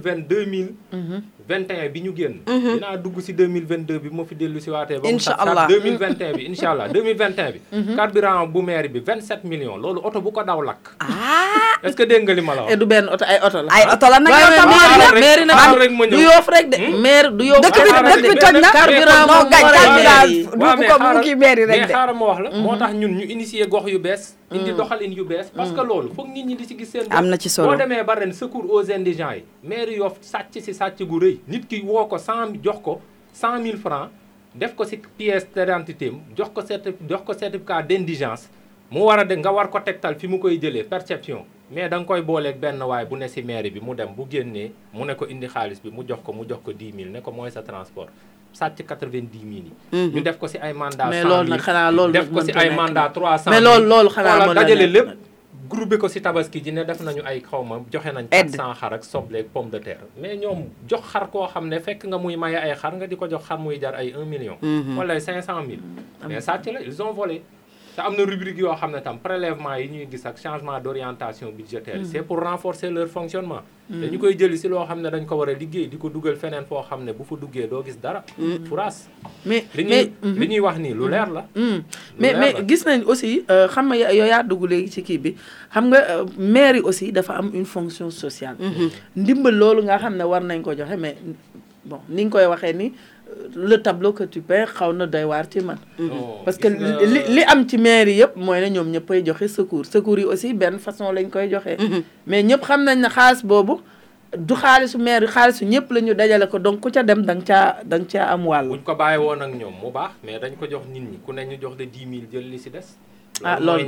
2021 bi ñu génn dinaa dugg si 2022 bi moo fi dellu si waatee ba mu sax 2021 bi incha allah 2021 bi carburant bu maire bi 27 millions loolu oto bu ko daw lakk est-ce que dégg nga li ma la wax du benn oto ay oto la ay oto la nag maire nag du Yoff rek de maire du Yoff dëkk bi toj na carburant moom mu kii maire rek mais xaaral ma wax la moo tax ñun ñu initier gox yu bees indi doxalin yu bees parce que loolu foog nit ñi di si gis seen am na ci solo boo demee ba ren secours aux indigents yi maire Yoff sàcc si sàcc gu rëy nit ki woo ko 100 jox ko 100 000 francs def ko si pièce d'identité jox ko certificat d'indigence mu war a de nga war ko tegtal fi mu koy jëlee perception mais da nga koy booleeg benn waay bu ne si mairie bi mu dem bu génnee mu ne ko indi xaalis bi mu jox ko 10 000 ne ko mooy sa transport sàcc 90 000 ñu def ko si ay mandat 100 000 mais loolu nag xanaa loolu def ko si ay mandat 300 000 mais loolu xanaa mën dajale lépp groupé ko si tabaski ji ne def nañu ay xawma joxe nañ 400 xar ak soble ak pomme de terre mais ñoom jox xar koo xam ne fekk nga muy maye ay xar nga di ko jox xar muy jar ay 1 million wala 500 000 mais sàcc la ils ont volé te am na rubrique yoo xam ne tam prélèvement yi ñuy gis ak changement d'orientation budgétaire c'est pour renforcer leur fonctionnement te ñu koy jëli si loo xam ne dañ ko war a liggéey di ko dugal feneen foo xam ne bu fa duggee doo gis dara furaas mais li ñuy wax nii lu leer la mais gis nañ aussi xam nga yow yaa dugg léegi ci kii bi xam nga maire yi aussi dafa am une fonction sociale ndimbal loolu nga xam ne war nañ ko joxe mais bon ni nga koy waxee ni le tableau que tu peins xaw na doy waar ci man parce que li am ci maire yi yëpp mooy ne ñoom ñëppay joxe secours yi aussi benn façon lañ koy joxe mais ñëpp xam nañ ne xaalis boobu du xaalisu maire yi xaalisu ñëpp la ñu dajale ko donc ku ca dem da nga caa am wàll buñ ko bàyyi woon ak ñoom mu baax mais dañ ko jox nit ñi ku ne ñu jox de 10 000 jël li si des loolu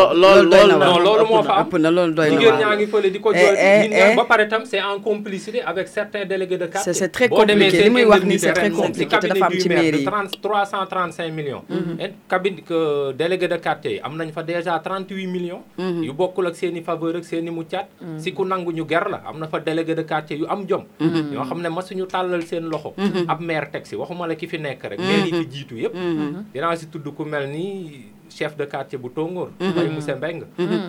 moo fa am ëpp na loolu doy na jigéen ñaa ngi fële di ko jooy nit ñaa ba pare tam c'est en complicité avec certains délégués de quartier c'est très compliqué li muy wax ni c'est très compliqué te dafa am ci mairie yi 335 millions cabinet délégué de quartier yi am nañ fa déjà 38 millions yu bokkul ak seen i faveur ak seen i muccaat si ku nangu ñu ger la am na fa délégué de quartier yu am jom ñoo xam ne masuñu tàllal seen loxo ab maire teg si waxuma la ki fi nekk rek maire yi fi jiitu yëpp dinaa si tudd ku mel ni chef de quartier bu Tongoor Mbaye Moussa Mbeng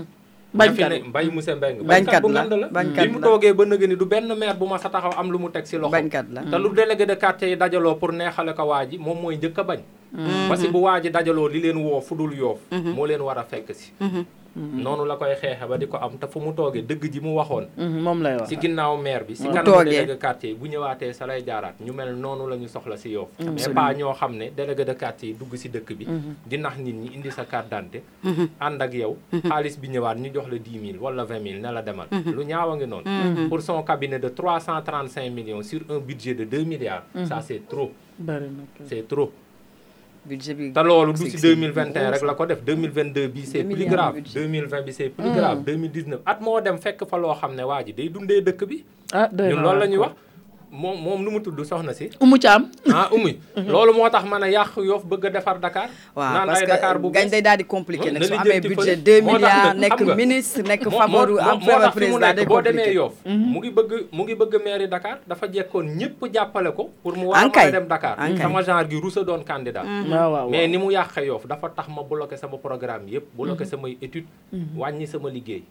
Mbaye Moussa Mbeng bañkat bu ngand la bi mu toogee ba nëgë ni du benn maire bu ma sa taxaw am lu mu teg si loxo bañkat la te lu délégué de quartier yi dajaloo pour neexale ko waa ji moom mooy njëkk a bañ parce que bu waa ji dajaloo li leen woo fu dul yoof moo leen war a fekk si noonu la koy xeexe ba di ko am te fu mu toogee dëgg ji mu waxoon moom lay wax si ginnaaw maire bi si kanam délégué quartier yi bu ñëwaatee sa lay jaaraat ñu mel noonu la ñu soxla si Yoff mais pas ñoo xam ne délégué de quartier yi dugg si dëkk bi di nax nit ñi indi sa carte d'identité ànd ak yow xaalis bi ñëwaat ñu jox la 10 000 wala 20 000 ne la demal lu ñaaw a ngi noonu pour son cabinet de 335 millions sur un budget de 2 milliards ça c'est trop c'est trop budget bi te loolu du si 2021 rek la ko def 2022 bi c'est plus grave 2020 bi c'est plus grave 2019 at moo dem fekk fa loo xam ne waa ji day dundee dëkk bi ñun loolu la ñuy wax moom nu mu tudd soxna si Umu Caam Umu loolu moo tax mën a yàq Yoff bëgg a defar Dakar waaw parce que gañ day daal di compliqué nag su amee budget 2 milliards nekk ministre nekk favori am favori président day boo demee Yoff mu ngi bëgg mairie Dakar dafa jekkoon ñëpp jàppale ko pour mu war a mën a dem Dakar sama genre gi rusa doon candidat mais ni mu yàqe Yoff dafa tax ma bloqué sama programme yëpp bloqué samay étude wàññi sama liggéey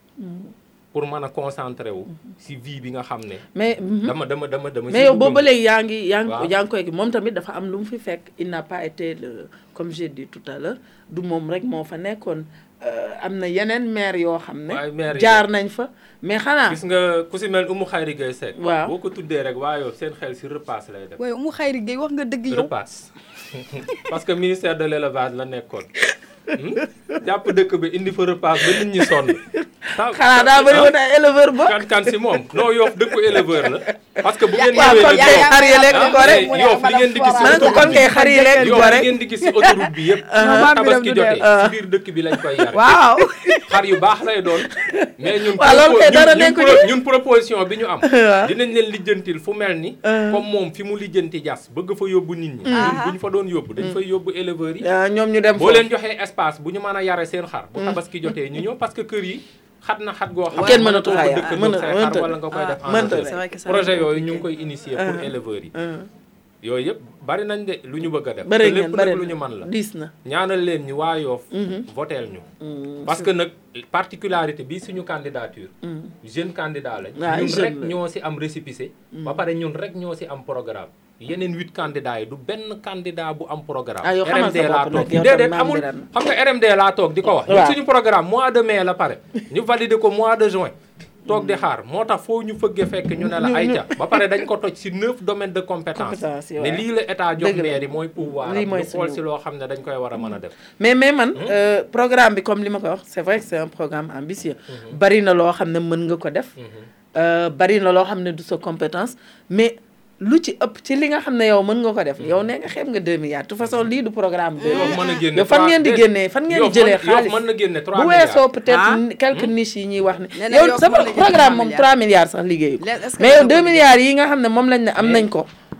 pour mën a concentré wu si vie bi nga xam ne mais dama mais yow boobu ba léegi yaa ngi koy moom tamit dafa am lu mu fi fekk il n'a pas été comme j'ai dit tout à l'heure du moom rek moo fa nekkoon am na yeneen maire yoo xam ne jaar nañ fa mais xanaa gis nga ku si mel Oumou Khayri Gueye Seck waaw boo ko tuddee rek waa yow seen xel si repasse lay def waaye Oumou Khayri Gueye wax nga dëgg yow repasse parce que ministère de l'élevage la nekkoon jàpp dëkk bi indi fa repas ba nit ñi sonn. xanaa daa bëri woon ay éleveur ba. kan si moom non Yoff dëkku éleveur la. parce que bu ngeen ñëwee xar yi lekk ko rek Yoff li ngeen di gis si kon kay xar yi lekk ko rek li ngeen di gis si autoroute bi yëpp. tabaski jotee si biir dëkk bi lañ koy yar. waaw xar yu baax lay doon. mais ñun proposition bi ñu am. dinañ leen lijjantil fu mel ni. comme moom fi mu lijjanti jas bëgg fa yóbbu nit ñi. ñun bu ñu fa doon yóbbu dañ fay yóbbu éleveurs yi. ñoom ñu dem boo leen joxee espace bu ñu mën a yare seen xar. bu tabaski jotee ñu ñëw parce que kër yi xat na xat goo xam kenn mënatu dëkk xar wala nga koy def projet yooyu ñu ngi koy initier pour éleveurs yi yooyu yëpp bari nañ de lu ñu bëgg a def te lépp nag lu ñu mën la diis na ñaanal leen ñu waa Yoff voteel ñu parce que nag particularité bi suñu candidature jeune candidat lañ ñun rek ñoo si am récépissé ba pare ñun rek ñoo si am programme yeneen 8 candidats yi du benn candidat bu am programme RMD laa toog déedéet amul xam nga RMD laa toog di ko wax ñun suñu programme mois de mai la pare ñu valider ko mois de juin toog di xaar moo tax foo ñu fëggee fekk ñu ne la ayca ba pare dañ ko toj si 9 domaines de compétence ne lii la état jox maire yi mooy pouvoir ñu xool si loo xam ne dañ koy war a mën a def mais man programme bi comme li ma ko wax c'est vrai que c'est un programme ambitieux bari na loo xam ne mën nga ko def bari na loo xam ne du sa compétence mais lu ci ëpp ci li nga xam ne yow mën nga ko def yow nee nga xeeb nga 2 milliards de toute façon lii du programme bi yow fan ngeen di génnee fan ngeen di jëlee xaalis mën na génne 3 bu weesoo peut-être quelques niches yi ñuy wax ne yow sama programme moom 3 milliards sax liggéeyu mais yow 2 milliards yi nga xam ne moom lañ ne am nañ ko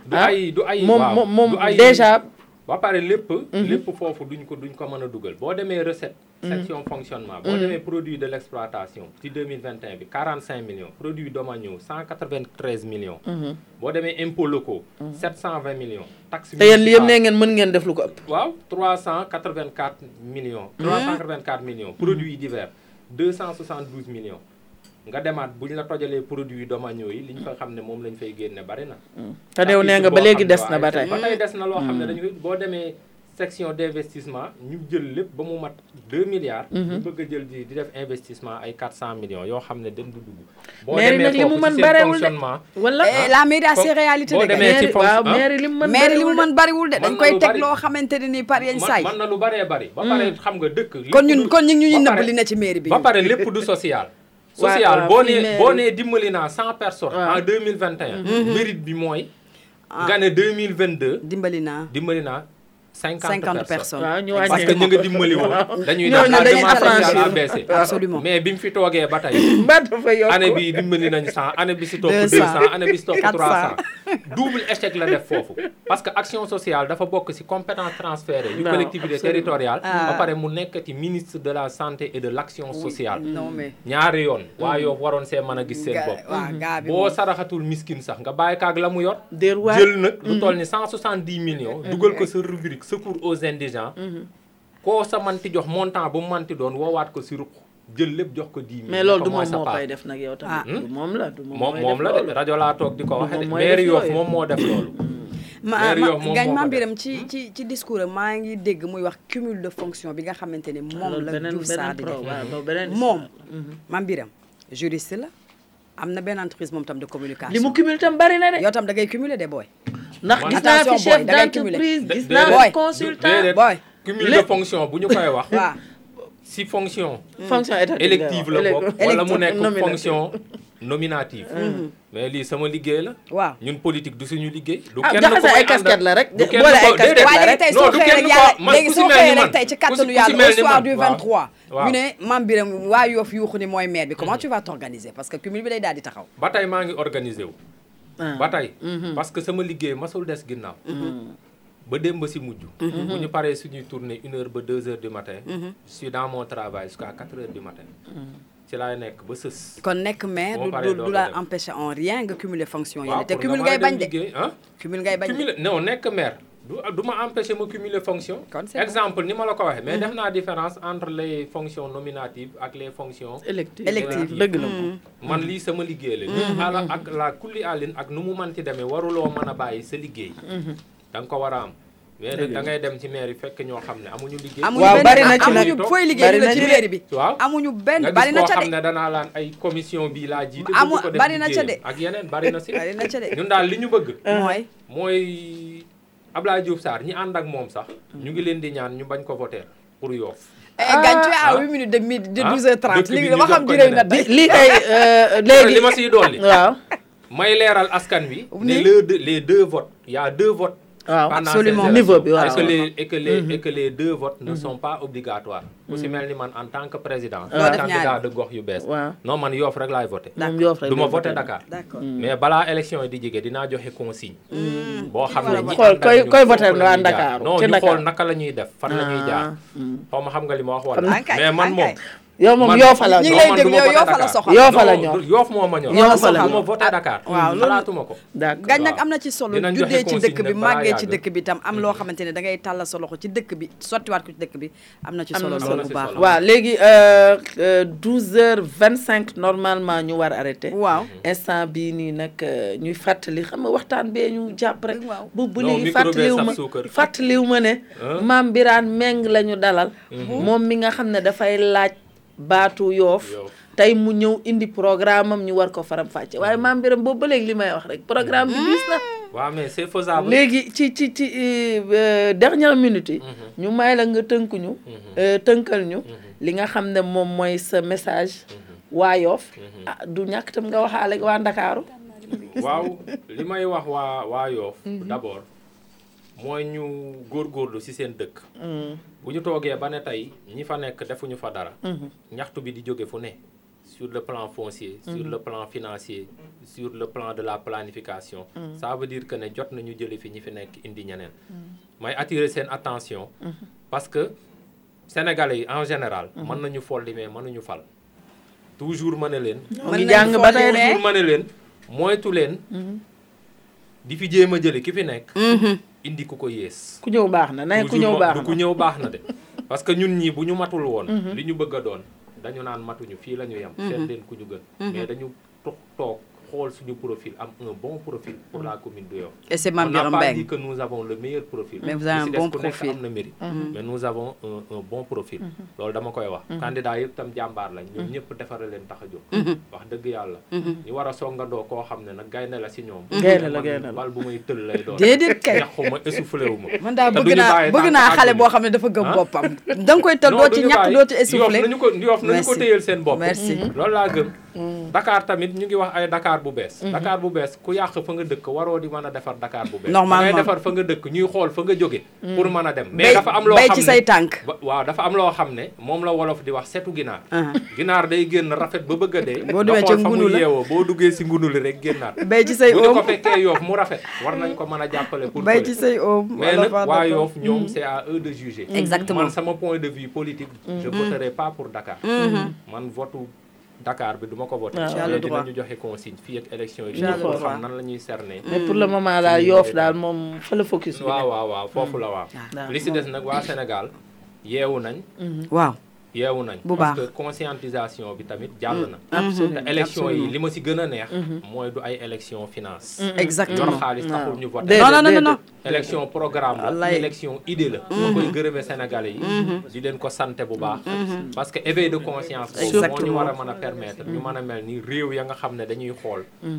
du ay moom déjà. ba pare lépp foofu duñ ko mën a dugal boo demee recette. section fonctionnement. boo demee produit de l'exploitation ci 2021 bi 45 millions produits domaniaux 193 millions. boo demee impôts locaux. 720 millions. taxes te yéen li yëpp nee ngeen mën ngeen def lu ko ëpp. waaw 384 millions. 384 millions. produits divers 272 millions. nga demaat bu ñu la tojalee produits domaniaux yi li ñu fa xam ne moom lañ fay génne bari na. te néew nee nga ba léegi des na ba tey. ba tey des na loo xam ne dañu boo demee section d'investissement ñu jël lépp ba mu mat 2 milliards. ñu bëgg a jël di def investissement ay 400 millions yoo xam ne dañ du dugg. boo demee foofu ci seen fonctionnement. wala la mairie a ses réalités boo demee ci mairie li mu mën bariwul de dañ koy teg loo xamante ne nii par yenn saa yi. mën na lu baree bari. ba pare xam nga dëkk. kon ñu ngi nëbb li ne ci mairie bi. ba pare lépp du social. social boo nee dimbali naa 100 personnes. en 2021. mérite bi mooy. nga ne 2022. dimbali naa 50 personnes. waaw ñu parce que ñu nga dimbali woon. dañuy def la demande sociale a baissé. absolument mais bi mu fi toogee ba tey. dafa yokk année bi dimbali nañ 100 année bi si topp 200 année bi si topp 300. double échec la def foofu. parce que action sociale dafa bokk ci compétence transférée yu collectivité territoriale. ba pare mu nekk ci ministre de la santé et de l'action sociale. ñaari yoon. waa yoo waroon see mën a gis seen bopp. boo saraxatul miskin sax nga bàyyi kaag la mu yor. jël nag lu toll ni 170 millions. dugal ko sa rubrique secours aux indigents. koo sa manti jox montant bu mu manti doon woowaat ko si ruq jël lépp jox ko 10 millions. mais loolu du moom moo koy def nag yow tamit. du moom la moom la de rajo laa toog di ko waxe de mairie Yoff moom moo def loolu. Mame Birame ci discours am maa ngi dégg muy wax cumul de fonction bi nga xamante ne moom la Diouf Sarr di def moom Mame Birame juriste la am na benn entreprise moom tam de communication. li mu cumul tam bari na de. yow tam da ngay cumuler de booy. ndax gis naa fi chef d'entreprise gis naa fi consultant booy. cumul de fonction bu ñu koy wax. waaw si fonction. fonction élective la bokk wala mu nekk fonction nominative. mais lii sama liggéey la. waaw ñun politique du suñu liggéey. du kenn ko jaxase ay casquette la rek. boole ay casquette la waaye rek tey soo xëyee rek yàlla léegi soo xëyee rek tey ci kattanu yàlla au soir du 23. ñu ne Mame Birame waa Yoff yuuxu ni mooy maire bi comment tu vas t'organiser parce que cumul bi day daal di taxaw. ba tey maa ngi organiser wu. ba tey. parce que sama liggéey masul des ginnaaw. ba démb ba si mujj. bu ñu paree suñuy tournée 1h ba 2h du matin. je suis dans mon travail jusqu'à 4h du matin. ci laay nekk ba sës. kon nekk maire du la empêcher en rien nga cumuler fonction yi. te cumul ngay bañ de cumul ngay bañ de. non nekk maire du ma empêcher ma cumuler fonction. exemple ni ma la ko waxee. mais def naa différence entre les fonctions nominatives ak les fonctions. électives dëgg la moom. man lii sama liggéey la. ala ak la kulli àllin ak nu mu mënti demee waruloo mën a bàyyi sa liggéey. da nga ko war a am. mais da ngay dem ci mairie fekk ñoo xam ne amuñu liggéey. waaw bari na ci nag amuñu fooy liggéey la ci mairie bi. waaw amuñu benn bari na ca de. nga gis koo xam ne danaa laan ay commission bii laa jiite. bari na ca de ak yeneen bari na si. bari na ca de ñun daal li ñu bëgg. mooy Abdoulaye Diouf Sarr ñi ànd ak moom sax. ñu ngi leen di ñaan ñu bañ ko voter pour Yoff. gañ tu à 8 minutes de 12h30 li nga xam jërëjëf na tey. lii kay léegi li ma siy dolli. waaw. may leeral askan wi. ne les deux votes y a 2 votes. waaw absolument niveau bi waaw et que les 2 votes ne sont pas obligatoires. ku si mel ni man en tant que président. candidat de gox yu bees. non man Yoff rek laay voté. du ma voté Dakar. mais balaa élection yi di jege dinaa joxe consigne. boo xam ne ñi koy voté waa Dakar non ñu xool naka la ñuy def fan la ñuy jaar. xaw ma xam nga li ma wax wala. mais man moom. yow moom Yoff la ñu ngi lay déglu Yoff la soxal. Yoff la ñor Yoff moo ma ñor. Yoff la du ma voté Dakar. waaw xalaatuma ko. d'accord gañ nag am na ci solo juddee ci dëkk bi màggee ci dëkk bi tam am loo xamante ne da ngay tàllal sa loxo ci dëkk bi sottiwaat ko ci dëkk bi am na ci solo loolu bu baax. waaw léegi 12h25 normalement ñu war arrêté. waaw instant bii nii nag ñuy fàttali xam nga waxtaan bee ñu jàpp rek. bu léegi fàttaliwu ma ne. Mame Birame Meng la ñu dalal. moom mi nga xam ne dafay laaj. baatu Yoff tey mu ñëw indi programme am ñu war ko faram fàcce waaye Mame Birame boobu ba léegi li may wax rek programme bi gis na. waaw mais c'est faisable. léegi ci dernière minute yi. ñu may la nga tënkal ñu. li nga xam ne moom mooy sa message. waa Yoff du ñàkk tam nga waxaale waa Ndakaaru. waaw li may wax waa Yoff d'abord. mooy ñu góorgóorlu ci seen dëkk. bu ñu toogee ba ne tey ñi fa nekk defuñu fa dara. ñaxtu bi di jóge fu ne sur le plan foncier, sur le plan financier, sur le plan de la planification. Ça veut dire que ne jot nañu jële fi ñi fi nekk indi ñeneen. may attirer seen attention parce que Sénégalais yi en général mën nañu folli mais mënuñu fal. toujours ma ne leen. ngi jàng ba tey toujours ma ne leen moytu leen. di fi jéem a jële ki fi nekk. indi ku ko yées. ku ñëw baax na nay ku ñëw baax na ku ñëw baax na de. parce que ñun ñii bu ñu matul woon. li ñu bëgg a doon dañu naan matuñu fii la ñu yem. seet leen ku ñu gën. mais dañu toog xool suñu profil am un bon profil pour la commune de Yoff. Et c'est Mame Birame On n'a pas Mbengue. dit que nous avons le meilleur profil. Mais vous avez un bon ku nekk profil. am na mérite. mais nous avons un bon profil. loolu dama koy wax. candidat yëpp tam jàmbaar lañ. ñoom ñëpp defare leen tax a jóg. wax dëgg yàlla. ñu war a songandoo koo xam ne nag gaynde la si ñoom. gaynde la bal bu may tël lay doon. déedéet kay ñaxuma essoufflé wu ma. man daal te bëgg duñu naa bàyyi bëgg tànk naa xale àdduna. boo xam ne dafa gëm boppam da nga koy tël doo ci ñàkk doo ci essoufflé. Yoff nañu ko téyel seen bopp. Merci. loolu laa gëm. Dakar tamit ñu ngi wax ay Dakar bu bees. Dakar bu bees ku yàq fa nga dëkk waroo di mën a defar Dakar bu bees. Normalement. da ngay defar fa nga dëkk ñuy xool fa nga jóge pour mën a dem. mais dafa am loo bay xam ci ne say tànk. waaw dafa am loo xam ne moom la wolof di wax setu ginaar. ginaar day génn rafet ba bëgg a dee. Boo demee nga ca xool fa ngunu mu la. yeewoo boo duggee si ngunu li rek génnaat. bay ci say bu ñu ko oom fekkee Yoff mu rafet war nañ ko mën a jàppale pour bay fële. ci say oom. mais nag wala waa fa Yoff ñoom c'est à eux de juger. Exactement. man sama point de vue politique. je voterai pas pour Dakar. man votu Dakar bi duma ko voté. Tu as le droit. dinañu joxe consigne fii ak élection yi. Tu as le pour droit. xam nan la ñuy cerner. mais pour le moment daal Yoff daal moom fa la focus bi waaw foofu la waaw. waaw. li si des nag waa Sénégal yeewu nañ. waaw yeewu nañ. Bu parce baax. que conscientisation bi tamit jàll na. absolument te élection yi li ma si gën a neex. mooy du ay élection finance. exactement. yor xaalis taxul ñu voté. Déedéet, non non non non. élection programme la Wallaay. élection idée la ma koy gërëme Sénégalais yi di leen ko santé bu baax parce que éveil de conscience boobu moo ñu war a mën a permettre ñu mën a mel ni réew ya nga xam ne dañuy xool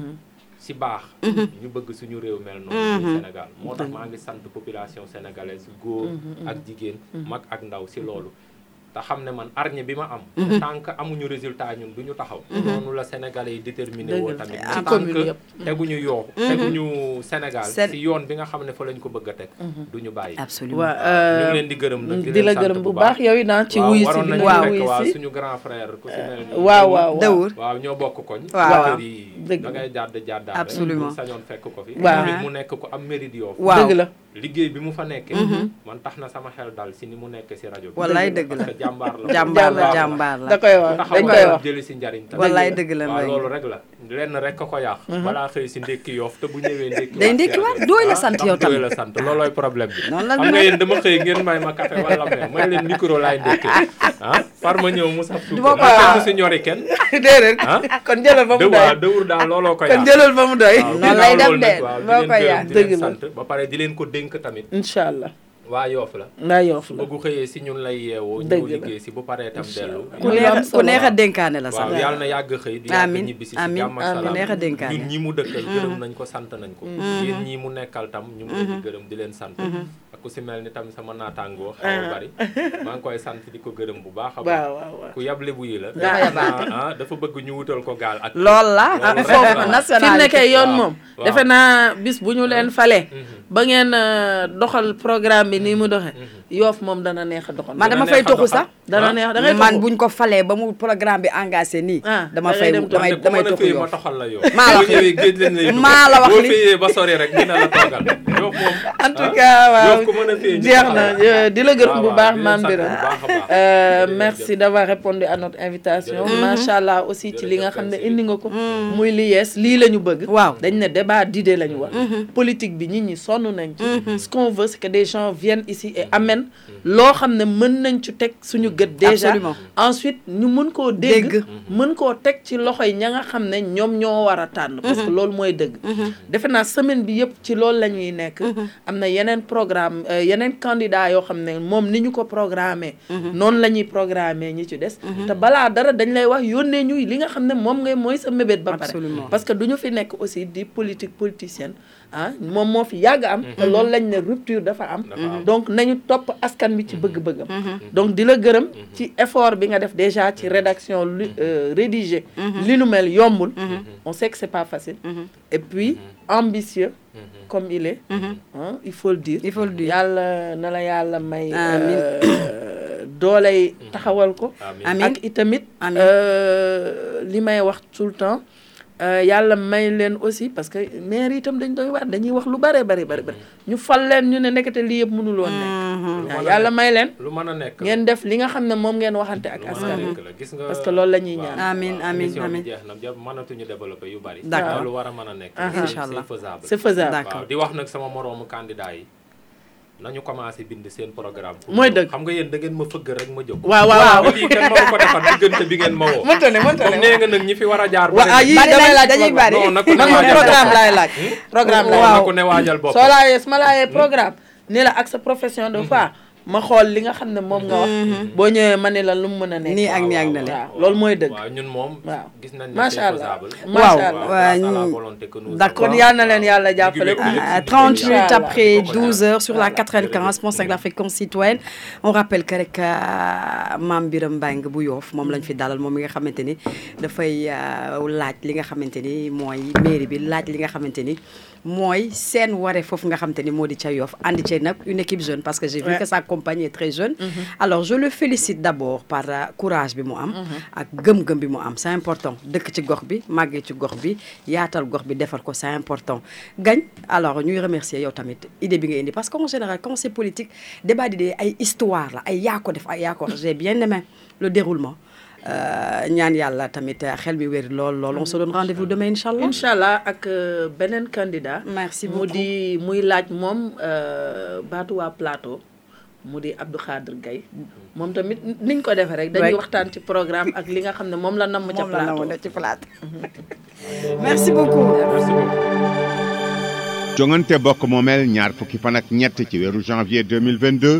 si baax ñu bëgg suñu réew mel noonu ci Sénégal moo tax maa ngi sant population sénégalaise góor ak jigéen mag ak ndaw si loolu te xam ne man arñe bi ma am tant que amuñu résultat ñun du ñu taxaw noonu la Sénégalais yi déterminé woo tamit ci tant commune que yëpp. teguñu Yoff teguñu Sénégal Sén- si yoon bi nga xam ne fa lañ ko bëgg a teg du ñu bàyyi absolument. ñu ngi leen di gërëm nag di la gërëm bu baax yow it ci waaw wuyu si waroon bi nañu nga fekk wuyu waaw si suñu grand frère ku si mel ni waaw waaw Dawur. waaw ñoo bokk koñ Waaw. kër yi Dëgg da ngay jàddaat Absolument. rek sañoon fekk ko fi Waaw. tamit mu nekk ko am mérite Yoff waaw dëgg la liggéey bi mu fa nekkee man tax na sama xel dal si ni mu nekkee si rajo bi wallaay dëgg la. parce que jàmbaar la jàmbaar la Baax jàmbaar la. da koy wax taxaw dañ nga koy wax jëli si njariñ tamit wallaay dëgg la waaw Mbaye. loolu rek la lenn rek ko yàq balaa xëy si ndékki Yoff te bu ñëwee ndékki Day ndékkiwaat, dooy la sant yow dooy tamit. la sant loolooy problème bi Noonu la xam nga yéen dama xëy ngeen may ma café wala meew may leen micro laay ndékkee par ma ñëw mu saf Du ma ko kenn wax. mu si ñori kenn déedéet ah kon jëlal ba mu doy dëwur daal looloo ko kon yàq jëlal ba mu doy waaw Noonu lay ginnaaw def loolu nag de, waaw moo koy di leen yàq. gërëm di leen Dëgg la. sant ba pare di leen ko dénk tamit incha allah waa Yoff la ndaa Yoff la bëggu xëyee si ñun lay yeewoo Dëgg ñëw la. liggéey si bu paree tam dellu ku Muy lu am neex ku solo. neex a dénkaane la sax. waaw yàlla na yàgg xëy di yàgg Amiin, ñibbi si amiin, jàmm ak amiin. salaam Neex a dénkaane. ñun ñi mu dëkkal gërëm nañ ko sant nañ ko yéen ñi mu nekkal tam ñu ngi leen di gërëm di leen sant ak ku si mel ni tam sama naataangoo xaw a bari maa ngi koy sant di ko gërëm bu baax a baax waaw waaw waaw ku yable bu yi la Dafa yabaate. dafa bëgg ñu wutal ko gaal ak lool la. Loolu rek foofu la. nationalité. fi mu nekkee yoon waaw, moom waaw. defe naa bis bu ñu leen falee ba ngeen doxal programme bi nii mu doxe Yoff moom dana neex a doxal man dama neex fay a toxu doxal. sax. dana neex da ngay man toxu. buñ ko falee ba mu programme bi engagé nii. Ah, dama da ngay fay dem damay Wante ku damay mën a toxu féey ma Yoff. toxal la yow Maa la boo wax li. ñëwee géej lañ lay dugal. Maa la wax boo li. féeyee ba sori rek dina la toogal Yoff moom en tout cas waaw Yoff ku mën a féey ñu jeex toxal na la. di la gërëm bu waaw, baax di leen Mame sant bu Birame baax a baax. merci d'avoir répondu à notre invitation macha allah aussi ci li nga xam ne indi nga ko muy li yees lii la ñu bëgg Waaw. dañ ne débat d'idées la ñu wax politique bi nit ñi sonn nañ ci ce qu'on veut c'est que des gens viennent ici et amènent loo xam ne mën nañ ci teg suñu gët déjà Absolument. ensuite ñu mën koo dégg mën koo teg ci loxoy ña nga xam ne ñoom ñoo war a tànn parce que loolu mooy dëgg defe naa semaine bi yëpp ci loolu la ñuy nekk am na yeneen programme yeneen candidat yoo xam ne moom ni ñu ko programmé noonu la ñuy programmé ñi ci des te balaa dara dañ lay wax yónnee ñuy li nga xam ne moom ngay mooy sa mébét ba pare Absolument. parce que du ñu fi nekk aussi di politicienne ah moom moo fi yàgg am te loolu lañ ne rupture dafa am donc nañu topp askan bi ci bëgg-bëggam donc di la gërëm ci effort bi nga def déjà ci rédaction rédigé li nu mel yombul on sait que c'est pas facile et puis ambitieux comme il est il faut le dire Il faut le dire. yàlla na la yàlla may dooley taxawal ko ak itamit li may wax tout le temps yàlla may leen aussi parce que maire itam dañuy wax lu bare ñu fal leen ñu ne nekkate lii yëpp mënul woon nekk yàlla may leen lu mën a nekk ngeen def li nga xam ne moom ngeen waxante ak askan wi parce que loolu la ñuy ñaan amiin jeex na mënatuñu développer yu bari d'accord lu war a mën a nekk inchallah c'est faisable waaw di wax nag sama moroomu candidat yi nañu commencé bind seen programme. mooy dëgg xam nga yéen da ngeen ma fëgg rek ma jóg. waaw lii kenn mënu ko defar diggante bi ngeen ma woo. mënta ne comme nee nga nag ñi fi war a jaar. damay laaj dañuy bari non nag man programme laay laaj. programme laay waaw ku ne waajal bopp. soo laajee su ma laajee programme ni la ak sa profession de foi ma xool li nga xam ne moom nga wax. boo ñëwee ma ne la lu mu mën a nekk. nii ak nii ak na la waaw loolu mooy dëgg. waaw ñun moom. gis nañ ne macha allah d'accord kon yal na leen yàlla jàppale. 30 minutes après 12h sur la 95.5 la fréquence citoyenne on rappelle que rek Mame Birame Mbengue bu Yoff moom lañ fi dalal moom mi nga xamante ni dafay laaj li nga xamante ni mooy mairie bi laaj li nga xamante ni mooy seen waree foofu nga xamante ni moo di ca Yoff andi ci nag une équipe jeune parce que j'ai vu que sa compagnie est très jeune. Alors je le félicite d'abord par courage bi mu am. ak gëm-gëm bi mu am c'est important dëkk ci gox bi màggee ci gox bi yaatal gox bi defar ko c'est important. Gagne alors ñuy remercier yow tamit idée bi nga indi parce qu'en général quand c'est politique débat d'idées ay histoire la ay yaa ko def ay yaa ko j'ai bien aimé le déroulement. ñaan yàlla tamit xel mi wér lool on se donne rendez-vous demain inchallah ak beneen candidat. merci beaucoup mu di muy laaj moom baatu waa plateau mu di Abdou Khadre Gaye moom tamit niñ ko defee rek dañuy waxtaan ci programme ak li nga xam ne moom la namm ca plateau. merci beaucoup. jongante bokk moomeel ñaar fukki fan ak ñett ci weeru janvier 2022.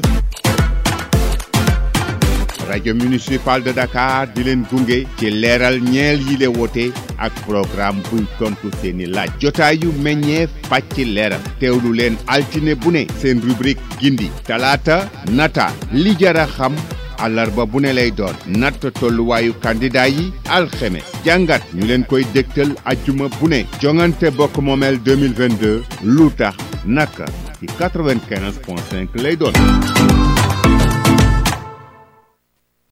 rajo municipal de Dakar di leen gunge ci leeral ñeel yi le wote ak programme buy tontu seeni laaj jotaayu meññeef pàcc leeral teewlu leen altine bu ne seen rubrique gindi talaata nata li jara xam àllarba bu ne lay doon natt tolluwaayu candidat yi alxemes jàngat ñu leen koy dégtal ajjuma bu ne jongante bokk moomeel 2022 lu tax naka ci 95.5 lay doon